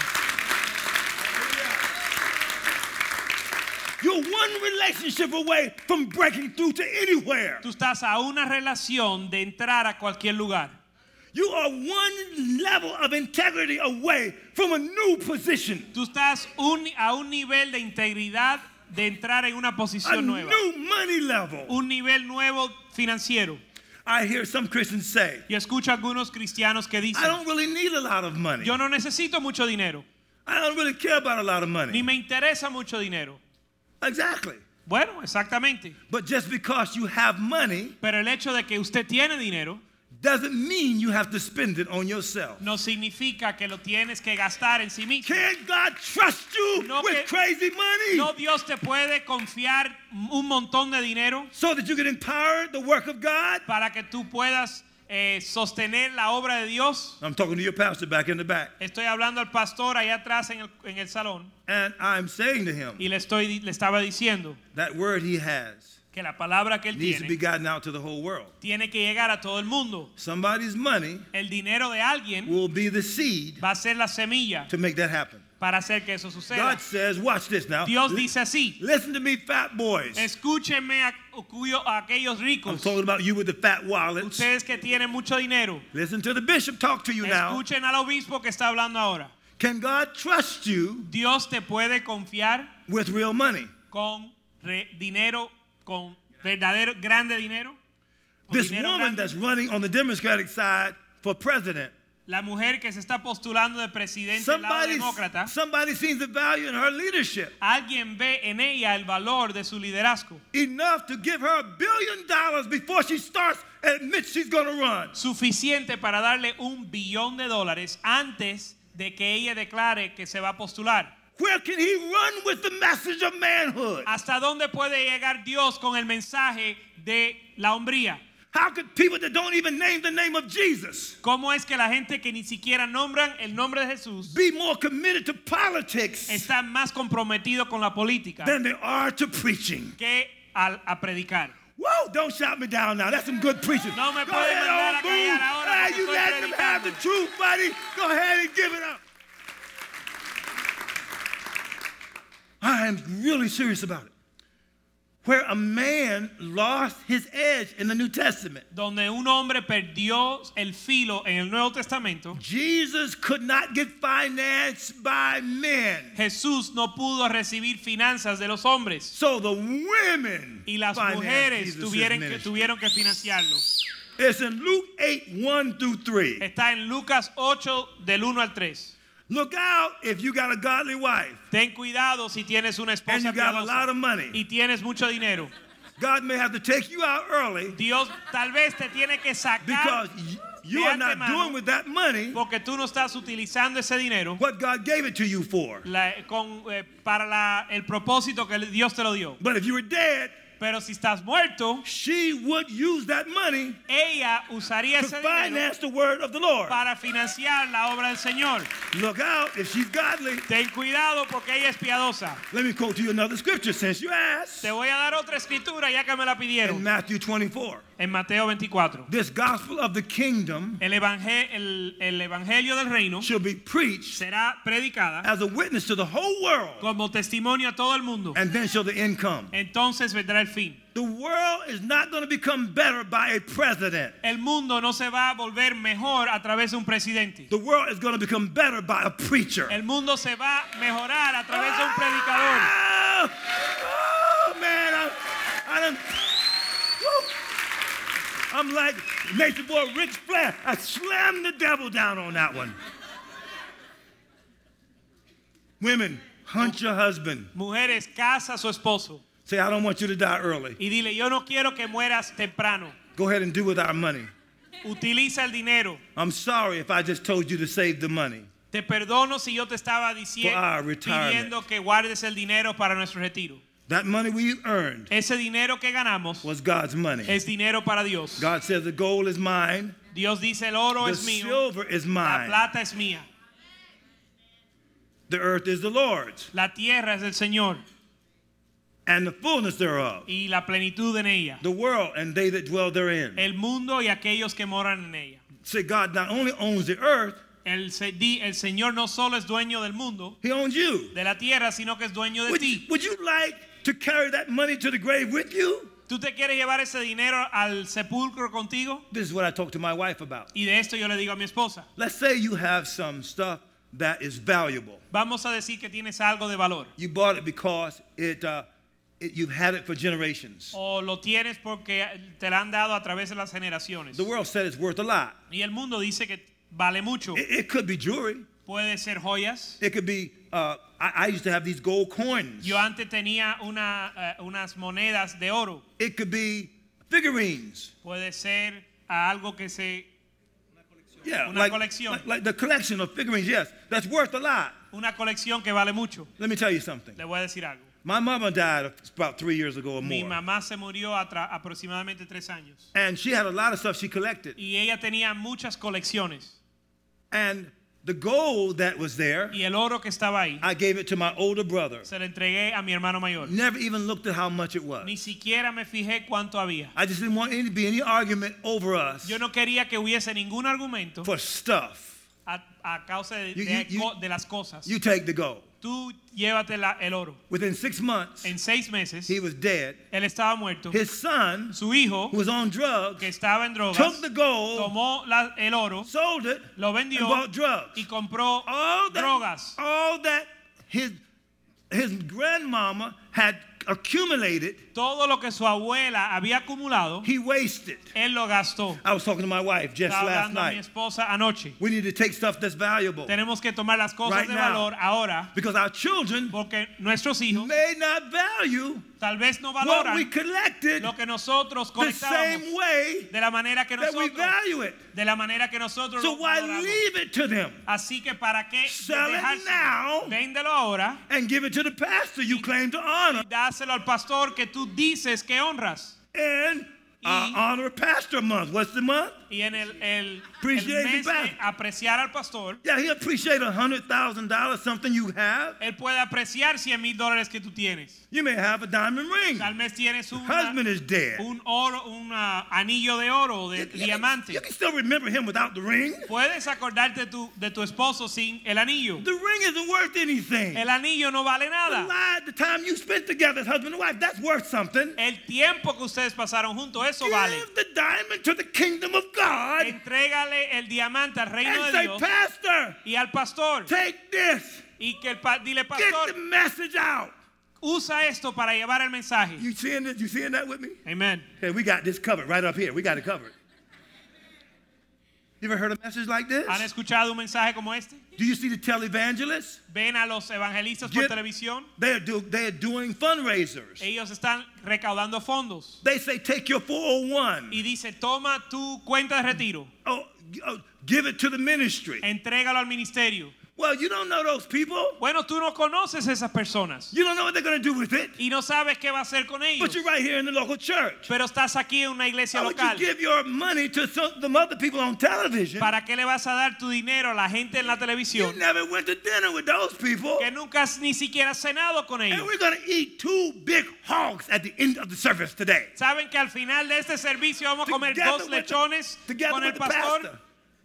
You're one relationship away from breaking through to anywhere. Tú estás a una relación de entrar a cualquier lugar. You are one level of integrity away from a new position, Tú estás un- a un nivel de integridad de entrar en una a posición nueva. new money level. Un nivel nuevo financiero. I hear some Christians say, Yo escucho a algunos cristianos que I dicen, don't really need a lot of money. yo no necesito mucho dinero, I don't really care about a lot of ni money. me interesa mucho dinero. Exactly. Bueno, exactamente. But just because you have money Pero el hecho de que usted tiene dinero doesn't mean you have to spend it on yourself. no significa que lo tienes que gastar en sí mismo. Can't God trust you No with que- crazy money No, Dios te puede confiar un montón de dinero so that you can empower the work of God? para que tú puedas eh, sostener la obra de Dios. I'm talking to your pastor back in the back. Estoy hablando al pastor allá atrás en el, en el salón And I'm saying to him, y le, estoy, le estaba diciendo that word he has que la palabra que él needs to be tiene gotten out to the whole world. tiene que llegar a todo el mundo. Somebody's money El dinero de alguien will be the seed va a ser la semilla to make that happen. para hacer que eso suceda. God says, watch this now. Dios Li- dice así, Listen to me, fat boys. escúchenme a, cuyo- a aquellos I'm ricos, talking about you with the fat wallets. ustedes que tienen mucho dinero. Listen to the bishop talk to you now. Escuchen al obispo que está hablando ahora. Can God trust you Dios te puede confiar with real money? con re- dinero, con verdadero, grande dinero. Con This dinero woman grande. that's running on the Democratic side for president, La mujer que se está postulando de presidente del lado somebody, demócrata, somebody sees the value in her leadership alguien ve en ella el valor de su liderazgo. enough to give her a billion dollars before she starts admit she's going to run. Suficiente para darle un billón de dólares antes de que ella declare que se va a postular. Where can he run with the message of manhood? ¿Hasta dónde puede llegar Dios con el mensaje de la hombría? How could people that don't even name the name of Jesus ¿Cómo es que la gente que ni siquiera nombran el nombre de Jesús be more committed to politics está más comprometido con la política than they are to preaching? que al, a predicar? Whoa, don't shout me down now. That's some good preaching. No me Go puede ahead, mandar old a callar boo. ahora Ah, porque you estoy let them have the predicando. truth, buddy. Go ahead and give it up. I am really serious about it. where a man lost his edge in the New Testament. Donde un hombre perdió el filo en el Nuevo Testamento. Jesus could not get financed by men. Jesús no pudo recibir finanzas de los hombres. So the women Y las financed mujeres Jesus' tuvieron que, ministry. tuvieron que financiarlo. It's in Luke eight, one through three. Está en Lucas ocho del uno al tres. Look out if you got a godly wife Ten cuidado si tienes una and esposa you got a piadosa lot of money. y tienes mucho dinero. God may have to take you out early Dios tal vez te tiene que sacar because y- you de are not antemano, doing with that money porque tú no estás utilizando ese dinero what God gave it to you for. la- con, eh, para la- el propósito que Dios te lo dio. But if you were dead, Pero si estás muerto, she would use that money ella usaría to ese dinero finance the word of the Lord. para financiar la obra del Señor. Look out if she's godly. Ten cuidado porque ella es piadosa. Let me quote to you another scripture since you asked. Te voy a dar otra escritura ya que me la In pidieron. Matthew twenty-four. En Mateo veinticuatro. This gospel of the kingdom El, evangel- el, el evangelio del reino shall be preached será predicada as a witness to the whole world, como testimonio a todo el mundo. and then shall the end come. Entonces vendrá el fin. The world is not going to become better by a president. El mundo no se va a volver mejor a través de un presidente. The world is going to become better by a preacher. El mundo se va a mejorar a través de un predicador. Oh, oh, man, I, I done, woo. I'm like nature boy Rick Flair. I slammed the devil down on that one. Women, hunt your husband. Mujeres, casa a su esposo Say, I don't want you to die early. y dile, yo no quiero que mueras temprano. Go ahead and do with our money. Utiliza el dinero. I'm sorry if I just told you to save the money. Te perdono si yo te estaba For diciendo, our retirement. pidiendo que guardes el dinero para nuestro retiro. That money we earned Ese dinero que ganamos was God's money. es dinero para Dios. God says the gold is mine, Dios dice, el oro the es mío, silver is la mine, plata es mía, the earth is the Lord's, la tierra es del Señor and the fullness thereof, y la plenitud en ella, the world and they that dwell therein. el mundo y aquellos que moran en ella. Say God not only owns the earth, El, se- di- el Señor no solo es dueño del mundo, He owns you. de la tierra, sino que es dueño de Would, ti. would you like to carry that money to the grave with you? ¿Tú te quieres llevar ese dinero al sepulcro contigo? This is what I talked to my wife about. Y de esto yo le digo a mi esposa, Let's say you have some stuff that is valuable. vamos a decir que tienes algo de valor. You bought it because it, uh, it you've had it for generations. O lo tienes porque te la han dado a través de las generaciones. The world said it's worth a lot. Y el mundo dice que vale mucho. It, it could be jewelry. Puede ser joyas. It could be, uh, I, I used to have these gold coins. Yo antes tenía una, eh, unas monedas de oro. It could be figurines. Puede ser algo que se... Yeah, Una like, colección. like, like the collection of figurines, yes, that's worth a lot. Una colección que vale mucho. Let me tell you something. Le voy a decir algo. My mama died about three years ago or Mi more. mamá se murió atra- aproximadamente tres años. And she had a lot of stuff she collected. Y ella tenía muchas colecciones. And the gold that was there, Y el oro que estaba ahí, I gave it to my older brother. se lo entregué a mi hermano mayor. Never even looked at how much it was. Ni siquiera me fijé cuánto había. I just didn't want any to be any argument over us Yo no quería que hubiese ningún argumento for stuff. a, a causa de, You- de, you- co- de las cosas. You take the gold. Tú llévate la- el oro. Within six months, En seis meses, he was dead. él estaba muerto. His son, Su hijo, who was on drugs, que estaba en drogas, took the gold, tomó la- el oro, sold it, lo and vendió bought drugs. y compró All that, drogas. all that his, his grandmama had accumulated, Todo lo que su abuela había acumulado, he wasted. él lo gastó. I was talking to my wife just Estaba last hablando a mi night. esposa anoche. We need to take stuff that's valuable Tenemos que tomar las cosas Right de now. valor ahora because our children porque nuestros hijos may not value tal vez no what valoran we collected lo que nosotros the colectábamos same way de la manera que that we nosotros value it. de la manera que nosotros So lo why valoramos. leave it to them? Así que para qué Sell it dejárselo? now. Véndelo ahora And give it to the pastor you claim to honor. y dáselo al pastor que tú dices que honras. And uh, honor pastor month. What's the month? Y en el, el, Appreciate el the mes de pastor. apreciar al pastor, Yeah, he appreciate a hundred thousand dollars, something you have. él puede apreciar cien mil dólares que tú tienes. You may have a diamond ring. Tal vez tienes una, Husband is dead. un oro, un uh, anillo de oro, de You- you, diamante. can, you can still remember him without the ring. Puedes acordarte tu, de tu esposo sin el anillo. The ring isn't worth anything. El anillo no vale The, nada. lie, the time you spent together as husband and wife, that's worth something. El tiempo que ustedes pasaron juntos, eso vale. Give the diamond to the kingdom of God Entrégale el diamante al reino and de say, Dios Pastor, y al pastor. take this. Y que el pa- dile, Get pastor, the message out. usa esto para llevar el mensaje. You seeing this? You seeing that with me? Amen. Hey, we got this covered right up here. We got it covered. You ever heard a message like this? ¿Han escuchado un mensaje como este? Do you see the televangelists? ¿Ven a los evangelistas por Get- televisión? They're, do, they're doing fundraisers. Ellos están recaudando fondos. They say, take your four oh one. Y dice, toma tu cuenta de retiro, Oh, oh, give it to the ministry. entrégalo al ministerio. Well, you don't know those people. Bueno, tú no conoces esas personas You don't know what they're going to do with it. y no sabes qué va a hacer con ellos. But you're right here in the local church. Pero estás aquí en una iglesia Why would local. you give your money to some, some other people on television? ¿Para qué le vas a dar tu dinero a la gente en la You televisión never went to dinner with those people. que nunca has ni siquiera cenado con And ellos? we're going to eat two big hogs at the end of the service today. ¿Saben que al final de este servicio vamos a comer Together dos with the- lechones together con el with the pastor? pastor.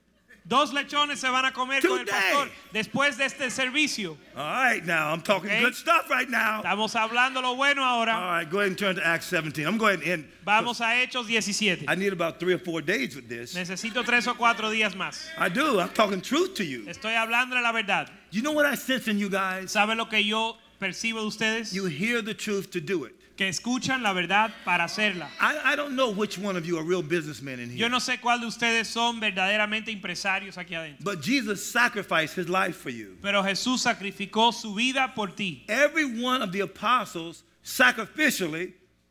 Dos lechones se van a comer con el Today. pastor después de este servicio. All right, now I'm talking Okay. good stuff right now. Estamos hablando lo bueno All ahora. right, go ahead and turn to Acts seventeen. I'm going to end. Vamos a Hechos diecisiete. I need about three or four days with this. Necesito tres o cuatro días más. I do. I'm talking truth to you. Estoy hablando de la verdad. You know what I sense in you guys? ¿Saben lo que yo percibo de ustedes? You hear the truth to do it. Que escuchan la verdad para hacerla. I, I don't know which one of you are real businessmen in here. Yo no sé cuál de ustedes son verdaderamente empresarios aquí adentro. But Jesus sacrificed his life for you. Pero Jesús sacrificó su vida por ti. Every one of the apostles sacrificially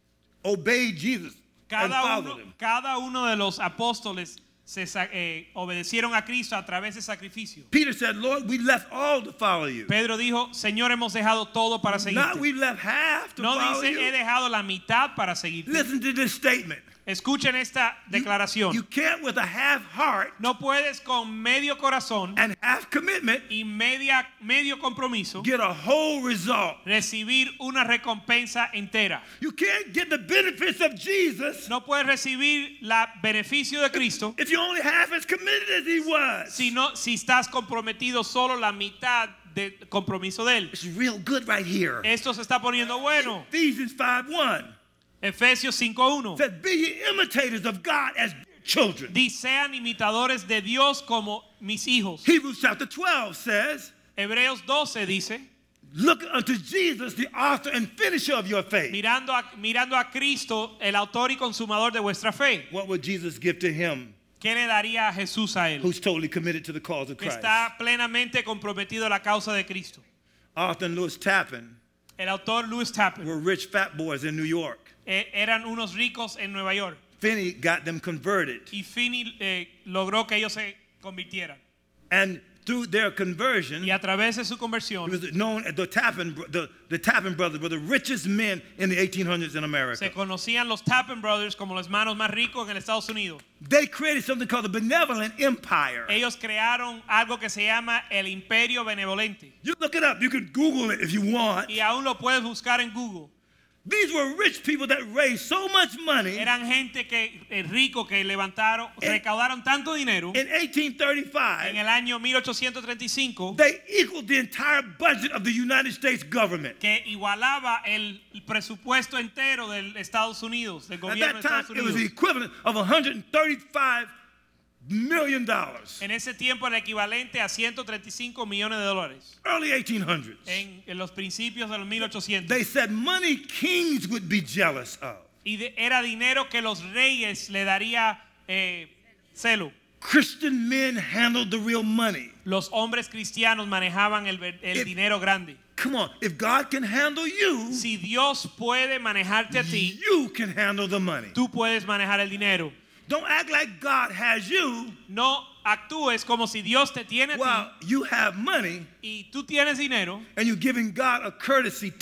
obeyed Jesus and Cada followed uno, him. cada uno de los apóstoles se sa- eh, obedecieron a Cristo a través de sacrificio. Peter said, Lord, we left all to follow you. Pedro dijo, Señor, hemos dejado todo para Not seguirte. we left half to No follow dice, you. he dejado la mitad para seguirte. Listen to this statement. Escuchen esta You- declaración. You can't with a half heart No puedes con medio corazón and half commitment y media, medio compromiso get a whole result. recibir una recompensa entera. You can't get the benefits of Jesus No puedes recibir el beneficio de Cristo if you're only half as committed as he was. si, no, si estás comprometido solo la mitad del compromiso de Él. It's real good right here. Esto se está poniendo bueno. Ephesians five one Efesios cinco uno. says, be ye imitators of God as dear children. Dice, sean imitadores de Dios como mis hijos. Hebrews chapter twelve says, Hebreos doce dice, look unto Jesus, the author and finisher of your faith. mirando a, mirando a Cristo, el autor y consumador de vuestra fe. What would Jesus give to him ¿Qué le daría a Jesús a él? who's totally committed to the cause of Que Christ? está plenamente comprometido a la causa de Cristo. Arthur and Louis Tappan El autor Lewis Tappan were rich fat boys in New York. eh, eran unos ricos en Nueva York Finney got them converted. y Finney eh, logró que ellos se convirtieran. And through their conversion, Y a través de su it conversión was known as the Tappan, bro- the, the Tappan brothers were the richest men in the eighteen hundreds in America. se conocían los Tappan Brothers como los hermanos más ricos en Estados Unidos. They created something called the Benevolent Empire. Ellos crearon algo que se llama el Imperio Benevolente. You look it up. You can Google it if you want. Y aún lo puedes buscar en Google. These were rich people that raised so much money. Eran gente que eh, rico que levantaron, En- recaudaron tanto dinero. In eighteen En thirty-five, el año mil ochocientos treinta y cinco they equaled the entire budget of the United States government. que igualaba el presupuesto entero de Estados Unidos, del At gobierno that de time, Estados it was the Unidos. equivalent of one hundred thirty-five million dollars. En ese tiempo era equivalente a ciento treinta y cinco millones de dólares. Early eighteen hundreds. En, en los principios de los mil ochocientos. They said money kings would be jealous of. Y de- era dinero que los reyes le daría eh, celo. Christian men handled the real money. Los hombres cristianos manejaban el, ver- el If- dinero grande. Come on, if God can handle you, Si Dios puede manejarte a ti, you can handle the money. tú puedes manejar el dinero. Don't act like God has you No actúes como si Dios te tiene a while ti you have money y tú tienes dinero and you're giving God a courtesy tip.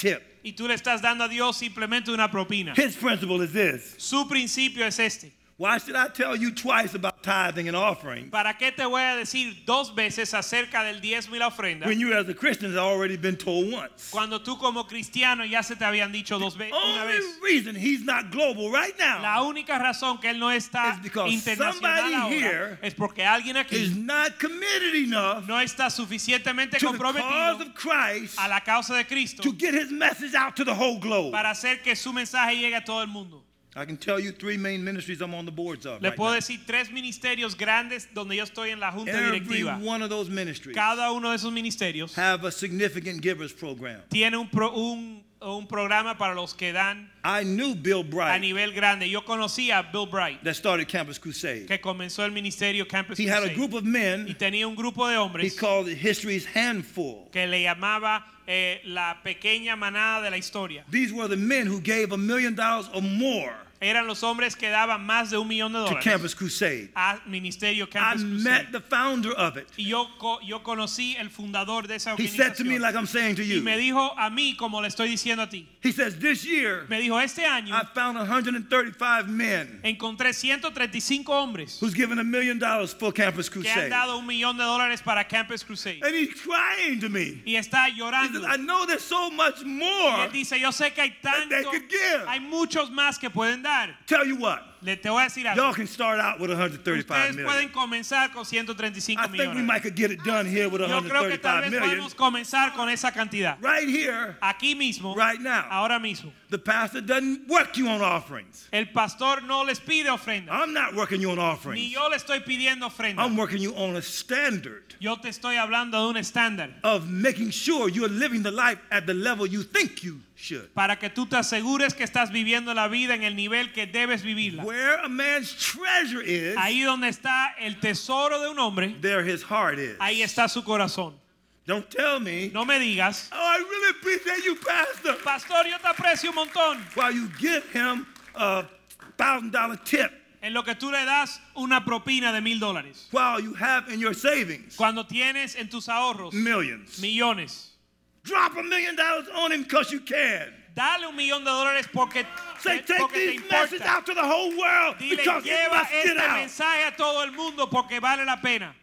Y tú le estás dando a Dios simplemente una propina. His principle is this. Su principio es este. Why should I tell you twice about tithing and offering ¿Para qué te voy a decir dos veces acerca del diezmo y la ofrenda? when you as a Christian have already been told once? Cuando tú como cristiano ya se te habían dicho dos veces, una Only vez. reason he's not global right La now única razón que él no está It's because internacional somebody ahora here es porque alguien is aquí not committed enough no está suficientemente to the cause comprometido of Christ a la causa de Cristo to get his message out to the whole globe. para hacer que su mensaje llegue a todo el mundo. I can tell you three main ministries I'm on the boards of Le right puedo now. decir tres ministerios grandes donde yo estoy en la junta Every directiva. one of those ministries Cada uno de esos ministerios have a significant givers program. tiene un, pro- un, un programa para los que dan I knew Bill a Bright nivel grande. Yo conocí a Bill Bright, that started Campus Crusade. que comenzó el ministerio Campus He had a Crusade. group of Y men tenía un grupo de he hombres called it History's Handful. que le llamaba eh, la pequeña manada de la historia. These were the men who gave a million dollars or more Eran los hombres que daban más de un millón de to dólares Campus Crusade. a ministerio I Campus Crusade. met the founder of it. Y yo, co- yo conocí el fundador de esa He said to me organización. like I'm saying to Y me you. dijo a mí como le estoy diciendo a ti. He says this year Me dijo, este año I found one hundred thirty-five men encontré ciento treinta y cinco hombres who's given a million dollars for Campus que han Crusade. dado un millón de dólares para Campus Crusade. And he's crying to me. Y está He llorando. says, I know there's so much Y more. él dice, yo sé que hay that they tanto, could give. hay muchos más que pueden dar. Tell you what, Le te voy a decir algo. y'all can start out with one hundred thirty-five Ustedes million. pueden comenzar con ciento treinta y cinco I think we millones. might could get it done here with Yo creo que tal one hundred thirty-five vez million. podemos comenzar con esa cantidad. Right here, Aquí mismo, right now. ahora mismo. The pastor doesn't work you on offerings. El pastor no les pide ofrenda. I'm not working you on Ni offerings. yo le estoy pidiendo ofrenda. I'm working you on a standard Yo te estoy hablando de un estándar of making sure you're living the life at the level you think you should. para que tú te asegures que estás viviendo la vida en el nivel que debes vivirla. Where a man's treasure is, Ahí donde está el tesoro de un hombre, there his heart is. ahí está su corazón. Don't tell me, No me digas, oh, I really appreciate you, pastor, pastor, yo te aprecio un montón. while you give him a thousand dollar tip En lo que tú le das una propina de mil dólares. while you have in your savings Cuando tienes en tus ahorros millions. millones. Drop a million dollars on him because you can. Dale un millón de dólares porque, Say, take porque te these messages importa. out to the whole world Dile, because it lleva must get este out. mensaje a todo el mundo porque vale la pena.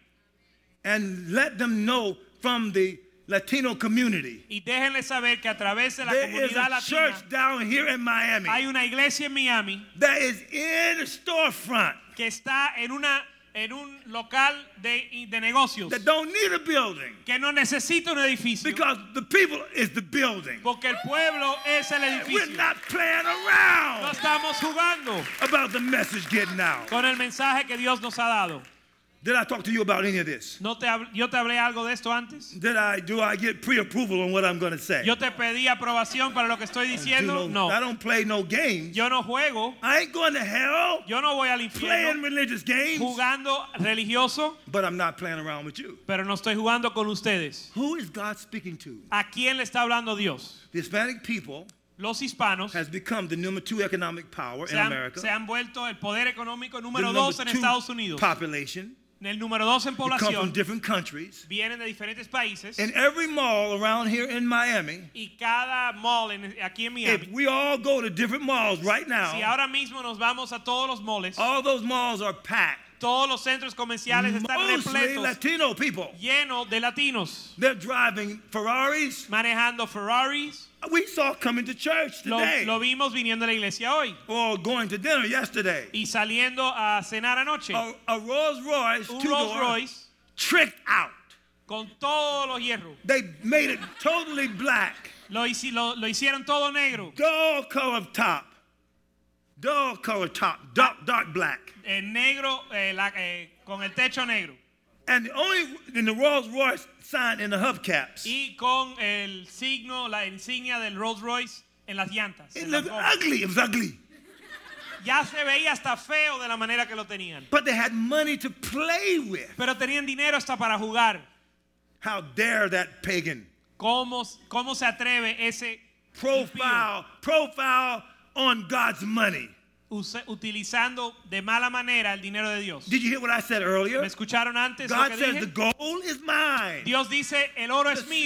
And let them know from the Latino community. Y déjenle saber que a través de la There is comunidad a latina church down here in Miami hay una iglesia en Miami that is in a storefront que está en una en un local de, de negocios that don't need a building que no necesita un edificio because the people is the building. porque el pueblo es el We're edificio. not playing No around estamos jugando about the message getting out. con el mensaje que Dios nos ha dado. Did I talk to you about any of this? ¿No te hab- yo te hablé algo de esto antes? Did I do I get pre-approval on what I'm going to say? Yo te pedí aprobación para lo que estoy Do diciendo. no- I No. don't play no games. Yo no juego. I ain't going to hell Yo no voy al playing infierno religious games, jugando religioso, but I'm not playing around with you. pero no estoy jugando con ustedes. Who is God speaking to? ¿A quién le está hablando Dios? The Hispanic people Los hispanos has become the number two economic power se in han, America. se han vuelto el poder económico The número number dos en two Estados Unidos. population. El número dos en They come from población. different countries. Vienen de diferentes países. In every mall around here in Miami, Y cada mall en- aquí en if Miami, we all go to different malls right si now, ahora mismo nos vamos a todos los malls, all those malls are packed. todos los centros comerciales están Mostly repletos, Latino people. llenos de latinos, They're driving Ferraris. manejando Ferraris. We saw coming to church Lo, today lo vimos viniendo a la iglesia hoy or going to dinner yesterday. y saliendo a cenar anoche. A, a Rolls Royce Un Rolls two-door Royce tricked out. con todos los hierros. They made it totally black. Lo, hici- lo- lo hicieron todo negro. Dull color top. Dull color top. Dark, dark black. El negro, eh, la- eh, con el techo negro. And the only in the Rolls Royce sign in the hubcaps. Y con el signo, la insignia del Rolls Royce en las llantas. It en las looked gomas. ugly. It was ugly. Ya se veía hasta feo de la manera que lo tenían. But they had money to play with. Pero tenían dinero hasta para jugar. How dare that pagan ¿Cómo, cómo se atreve ese profile profile on God's money? use- utilizando de mala manera el dinero de Dios? Did you hear what I said earlier? ¿Me escucharon antes lo God que says dije? the gold is mine. Dios dice, el oro es mío.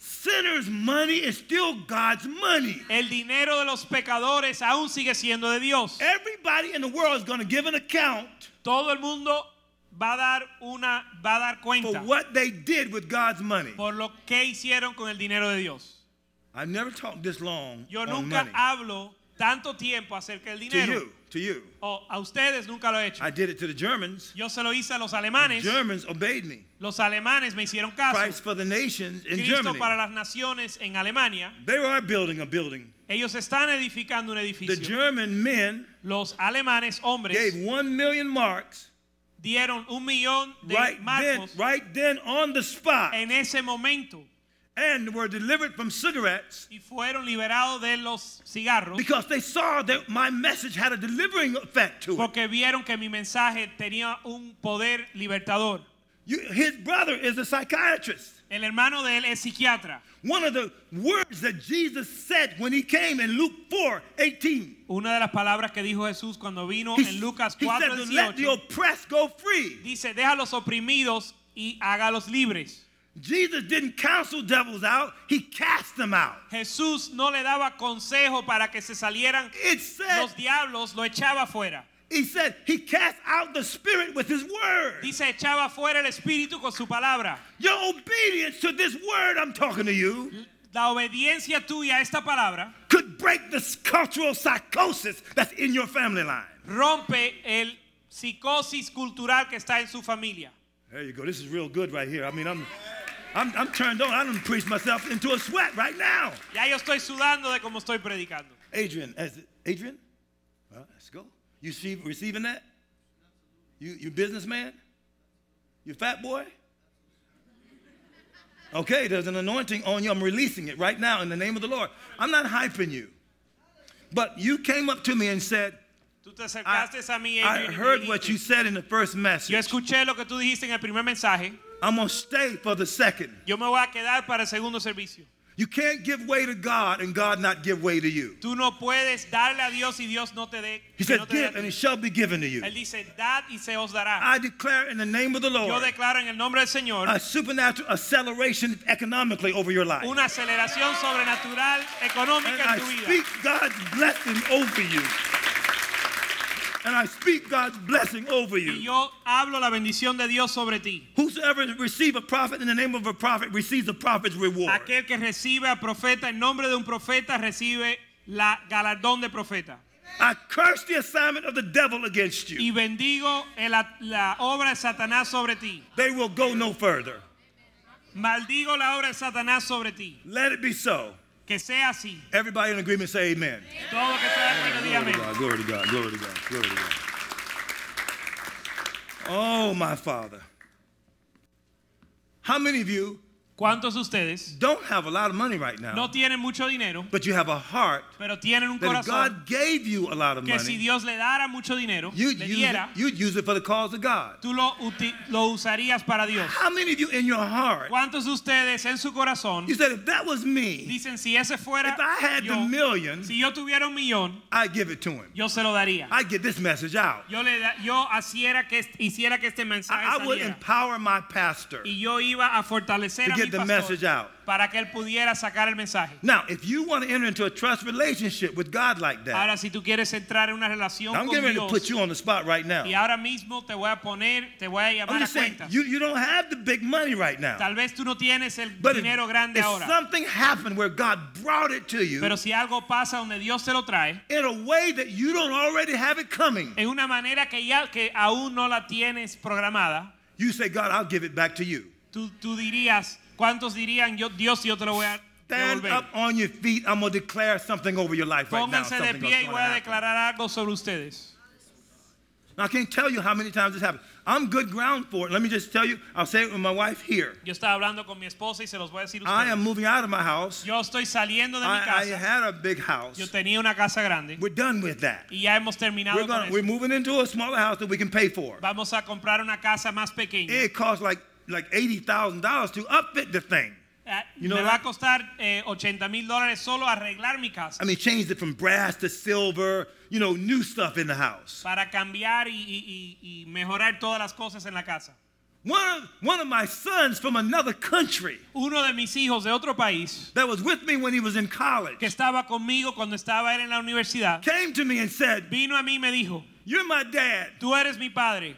sinners' money is still God's money. El dinero de los pecadores aún sigue siendo de Dios. Everybody in the world is going to give an account Todo el mundo va a dar una va a dar for cuenta what they did with God's money. por lo que hicieron con el dinero de Dios. I've never talked this long Yo on nunca money. hablo tanto tiempo acerca del To dinero. you, to you. O a ustedes nunca lo he hecho. I did it to the Germans. Yo se lo hice a los The alemanes. Germans obeyed me. Los alemanes me hicieron caso. Christ for the nations in Cristo Germany. para las naciones en Alemania. They were building a building. Ellos están edificando un The edificio. German men Los alemanes hombres gave one million marks dieron un millón de right then, marcos right then on the spot, en ese momento and were delivered from cigarettes y fueron liberados de los cigarros because they saw that my message had a delivering effect to it. porque vieron que mi mensaje tenía un poder libertador. You, his brother is a psychiatrist. El hermano de él es psiquiatra. One of the words that Jesus said when he came in Luke four eighteen. Una de las palabras que dijo Jesús cuando vino He, en Lucas he said cuatro to let the dieciocho oppressed go free. dice, deja a los oprimidos y hágalos libres. Jesus didn't counsel devils out, he cast them out. Jesús no le daba consejo para que se salieran It said, los diablos, lo echaba fuera. he said he cast out the spirit with his word. Dice, echaba fuera el espíritu con su palabra. Your obedience to this word I'm talking to you La obediencia tuya a esta palabra could break this cultural psychosis that's in your family line. rompe el psicosis cultural que está en su familia. There you go. This is real good right here. I mean, I'm, I'm, I'm turned on. I done preached myself into a sweat right now. Ya yo estoy sudando de cómo estoy predicando. Adrian, as Adrian, well, let's go. You see, receiving that? You, you businessman? You fat boy? Okay, there's an anointing on you. I'm releasing it right now in the name of the Lord. I'm not hyping you. But you came up to me and said, Tú te I, acercaste a mí, I Adrian, y me heard what dijiste, you said in the first yo message. escuché lo que tú dijiste en el primer mensaje. I'm going to stay for the second. Yo me voy a quedar para el segundo servicio. You can't give way to God and God not give way to you. Tú no puedes darle a Dios y Dios no te dé. He que said, no te dé a give ti. and it shall be given to you. Él dice, dad y se os dará. I declare in the name of the Yo Lord declaro en el nombre del Señor a supernatural acceleration economically over your life. una aceleración sobrenatural económica And I en tu vida. speak God's blessing over you. And I speak God's blessing over Y you. yo hablo la bendición de Dios sobre ti. Whosoever receive a prophet in the name of a prophet receives a prophet's reward. Aquel que recibe a profeta en nombre de un profeta recibe la galardón de profeta. I curse the assignment of the devil against you. Y bendigo el- la obra de Satanás sobre ti. They will go no further. Maldigo la obra de Satanás sobre ti. Let it be so. Que sea así. Everybody in agreement say amen. Todo lo que esté de acuerdo, diga Glory to amén. God, glory to God, glory to God, glory to God. Oh, my Father. How many of you ¿Cuántos de ustedes don't have a lot of money right now, no tienen mucho dinero, but you have a heart pero tienen un that if corazón God gave you a lot of que si money, Dios le dara mucho dinero, you'd le use, it, diera, you'd use it for the cause of God? tú lo, uti- lo usarías para Dios? How many of you in your heart, ¿Cuántos de ustedes en su corazón you said, if that was me, dicen, si ese fuera if I had yo, the million, si yo tuviera un millón, I'd give it to him. yo se lo daría? I'd get this message out. Yo, le da, yo hiciera que, hiciera que este mensaje I, I would saliera. empower my pastor Y yo iba a fortalecer to a mi get the pastor message out. para que él pudiera sacar el mensaje. Now, if you want to enter into a trust relationship with God like that, Ahora, si tú quieres entrar en una relación I'm con getting ready to Dios, put you on the spot right now. y ahora mismo te voy a poner, te voy a I'm llamar a just saying, cuentas. you, you don't have the big money right now. Tal vez tú no tienes el But if, dinero grande if ahora, something happened where God brought it to you pero si algo pasa donde Dios te lo trae, in a way that you don't already have it coming, en una manera que ya que aún no la tienes programada, you say, God, I'll give it back to you. tú, tú dirías, ¿cuántos dirían, yo, Dios, yo te lo voy a Stand devolver? up on your feet. I'm going to declare something over your life right now. Pónganse de Something pie y gonna voy a happen. declarar algo sobre ustedes. Now, I can't tell you how many times this happened. I'm good ground for it. Let me just tell you, I'll say it with my wife here. Yo estaba hablando con mi esposa y se los voy a decir a I ustedes. am moving out of my house. Yo estoy saliendo de mi I, I casa. had a big house. Yo tenía una casa grande We're done with that. y ya hemos terminado We're, con gonna, we're eso. moving into a smaller house that we can pay for. Vamos a comprar una casa más pequeña. It costs like like eighty thousand dollars to upfit the thing. Eh, You know Me that? va a costar eh, ochenta mil dólares solo arreglar mi casa. I mean, changed it from brass to silver, you know, new stuff in the house. Para cambiar y, y- y- y mejorar todas las cosas en la casa. One of, one of my sons from another country Uno de mis hijos de otro país that was with me when he was in college que estaba conmigo cuando estaba él en la universidad came to me and said, vino a mí y me dijo, "You're my dad. tú eres mi padre.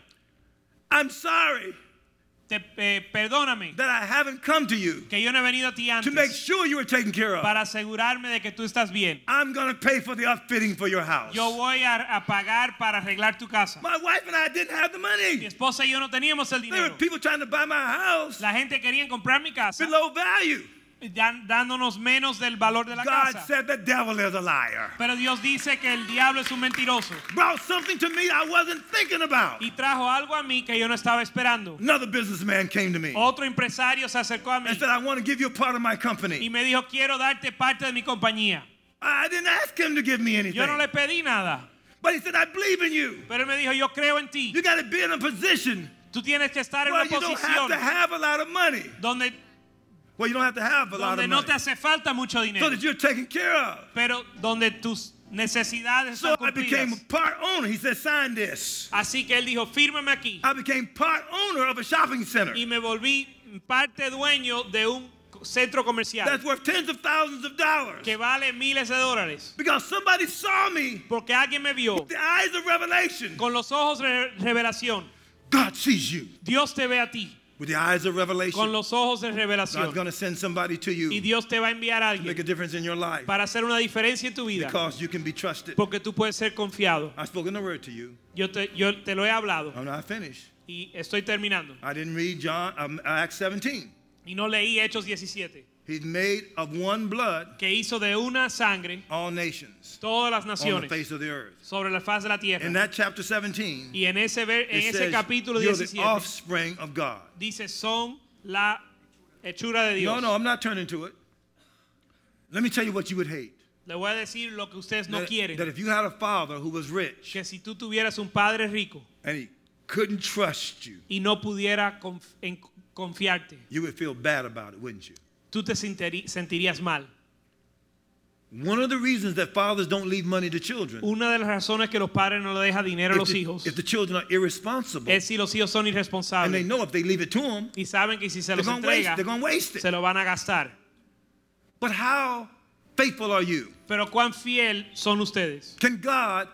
I'm sorry Te, eh, perdóname that I haven't come to you que yo no he venido a ti to make antes sure you were taken care of. para asegurarme de que tú estás bien. I'm going to pay for the upfitting for your house." Yo voy a, a pagar para arreglar tu casa. My wife and I didn't have the Mi money. esposa y yo no teníamos el There were dinero. people trying to buy my house La gente quería comprar mi casa below value. dan- dándonos menos del valor de la God casa. said the devil is a liar. Pero Dios dice que el diablo es un mentiroso Brought something to me I wasn't thinking about. y trajo algo a mí que yo no estaba esperando. Another businessman came to me Otro empresario se acercó a mí and said, "I want to give you a part of my y company." me dijo, quiero darte parte de mi compañía. I didn't ask him to give me anything. Yo no le pedí nada, But he said, "I believe in you. pero él me dijo, yo creo en ti. You got to be in a position Tú tienes que estar en where una you don't have posición to have a lot of money. donde, Well, you don't have to have a lot donde of no money te hace falta mucho so dinero, that you're taken care of. pero donde tus necesidades So están I became a cumplidas. part owner. He said, "Sign this." Así que él dijo, fírmame aquí. I became part owner of a shopping center Y me volví parte dueño de un centro comercial that's worth tens of thousands of dollars que vale miles de dólares. because somebody saw me Porque alguien me vio with the eyes of revelation. con los ojos de revelación. God sees you Dios te ve a ti with the eyes of con revelation. los ojos de God's revelación. going to send somebody to Y you Dios te va a enviar a to make a alguien difference in your life para hacer una diferencia en tu vida. because you can be trusted. Porque tú puedes ser confiado. I've spoken the word to you. Yo te, yo te lo he hablado I'm not finished. y estoy terminando. I didn't read John um, Acts seventeen. Y no leí Hechos diecisiete, He's made of one blood que hizo de una sangre all nations todas las on the naciones face of the earth. sobre la faz de la tierra. In that chapter seventeen, Y en ese, ver- en it ese says capítulo you're the diecisiete offspring of God. dice, son la hechura de Dios. No, no, I'm not turning to it. Let me tell you what you would hate. Le voy a decir lo que ustedes no That, quieren. that if you had a father who was rich Que si tú tuvieras un padre rico and he couldn't trust you, y no pudiera conf- en- confiarte, you would feel bad about it, wouldn't you? tú te sentiri- sentirías mal. One of the reasons that fathers don't leave money to children, Una de las razones que los padres no le dejan dinero a if los the, hijos if the children are irresponsible es si los hijos son and they irresponsables know if they leave it to them, y saben que si se they're los going to waste, entrega they're going to waste it. se lo van a gastar. But how faithful are you? Pero cuán fiel son ustedes. Can God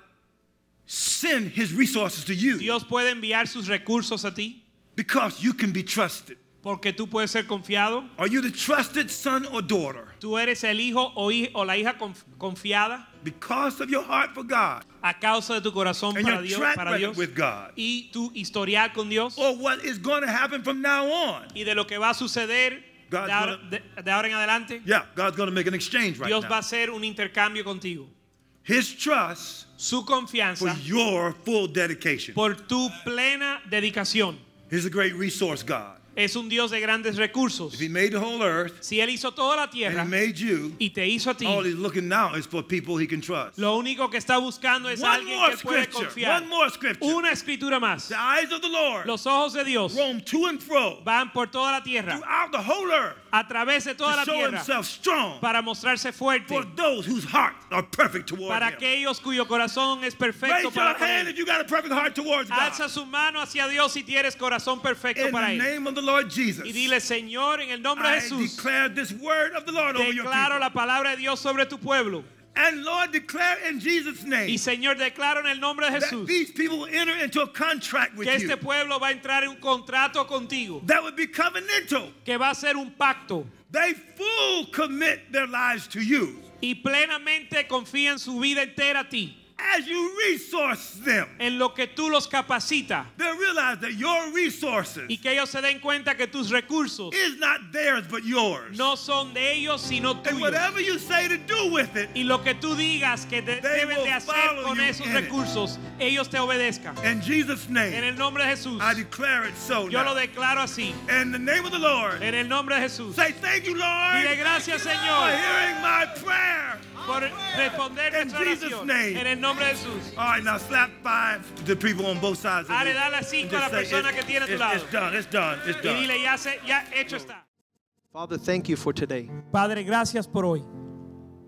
send his resources to you Dios puede enviar sus recursos a ti because you can be trusted? porque tú puedes ser confiado. Are you the trusted son or daughter? Tú eres el hijo o, hij- o la hija conf- confiada Because of your heart for God a causa de tu corazón and para your Dios, track para record Dios with God, y tu historial con Dios or what is going to happen from now on? y de lo que va a suceder God's de ahora, gonna- de- de ahora en adelante. Yeah, God's going to make an exchange right Dios va a now. hacer un intercambio contigo. His trust Su for confianza your full dedication. por tu plena dedicación. He's a great resource God. Es un Dios de grandes recursos. If he made the whole earth Si Él hizo toda la and tierra he made you, y te hizo a ti, all he's looking now is for people he can trust. lo único que está buscando es One alguien more que él puede scripture. confiar. One more scripture. Una escritura más. The eyes of the Lord Los ojos de Dios roam to and fro van por toda la tierra, throughout the whole earth a través de toda to la show tierra, himself strong para mostrarse fuerte, for those whose hearts are perfect toward para him. aquellos cuyo corazón es perfecto Raise your para con hand Él. if you got a perfect heart towards God. Alza su mano hacia Dios si tienes corazón perfecto In para the Él. name of the Lord Jesus, Y dile, Señor, en el nombre de I Jesús, declare this word of the Lord over your declaro people. la palabra de Dios sobre tu pueblo. And Lord, declare in Jesus' name Y Señor, declaro en el nombre de that Jesús these people will enter into a contract with que you este pueblo va a entrar en un contrato contigo, that would be covenantal. que va a ser un pacto, They full commit their lives to you y plenamente confían su vida entera a ti, as you resource them. en lo que tú los capacitas, They realize that your resources y que ellos se den cuenta que tus recursos is not theirs but yours. no son de ellos sino And tuyos. whatever you say to do with it, Y lo que tú digas que de- They deben will de hacer follow con you esos in it. recursos, ellos te obedezcan. in Jesus' En name, el nombre de Jesús, I declare it so yo lo now. declaro así. In the name of the Lord, En el nombre de Jesús. say thank you, Lord, Dile gracias, for Señor, hearing my prayer. por responder In nuestra Jesus' oración. name. En el nombre de Jesús. All right, now slap five to the people on both sides of Dale, you. dale cinco And a la just say, persona it's, que tiene a tu it's- lado. it's done, it's done, it's Y done. dile, ya, se, ya hecho está. Father, thank you for today. Padre, gracias por hoy.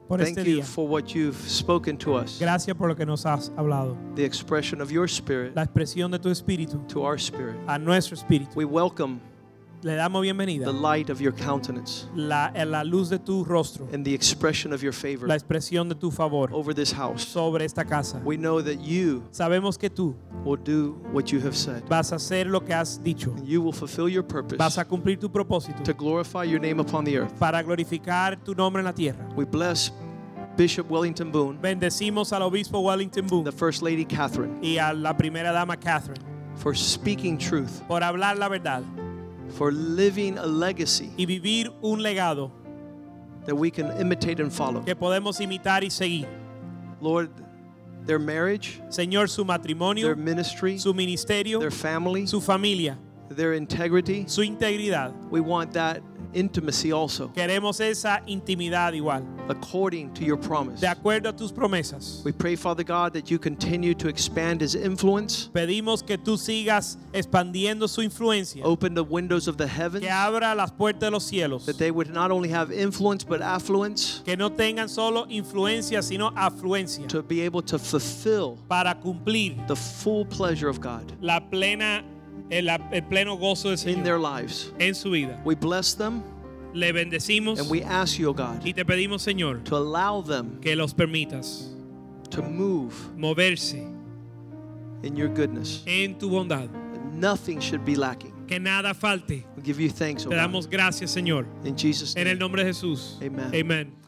por Thank este you día. for what you've spoken to us. Gracias por lo que nos has hablado. The expression of your spirit La expresión de tu espíritu to our spirit. a nuestro espíritu. We welcome Le damos bienvenida. the light of your countenance La, la luz de tu rostro. and the expression of your favor La expresión de tu favor over this house. sobre esta casa. We know that you Sabemos que tú will do what you have said. vas a hacer lo que has dicho. And you will fulfill your purpose Vas a cumplir tu propósito to glorify your name upon the earth. para glorificar tu nombre en la tierra. We bless Bishop Wellington Boone, Bendecimos al obispo Wellington Boone the First Lady Catherine, y a la primera dama Catherine for speaking truth, por hablar la verdad for living a legacy y vivir un legado that we can imitate and follow. que podemos imitar y seguir. Lord, their marriage, Señor, su matrimonio, their ministry, su ministerio, their family, su familia, their integrity, su integridad. we want that intimacy also, Queremos esa intimidad igual, according to your promise. de acuerdo a tus promesas. We pray, Father God, that you continue to expand his influence, Pedimos que tú sigas expandiendo su influencia, open the windows of the heavens, que abra las puertas de los cielos, that they would not only have influence but affluence que no tengan solo influencia, sino afluencia, to be able to fulfill para cumplir the full pleasure of God la plena, el, el pleno gozo del in Señor their lives. en su vida. We bless them Le bendecimos and we ask you, O God, y te pedimos, Señor, to allow them que los permitas to move moverse in your goodness. en tu bondad, Nothing should be lacking. que nada falte. We give you thanks, O Te God. damos gracias, Señor, In Jesus' en el name. nombre de Jesús. Amen. Amen.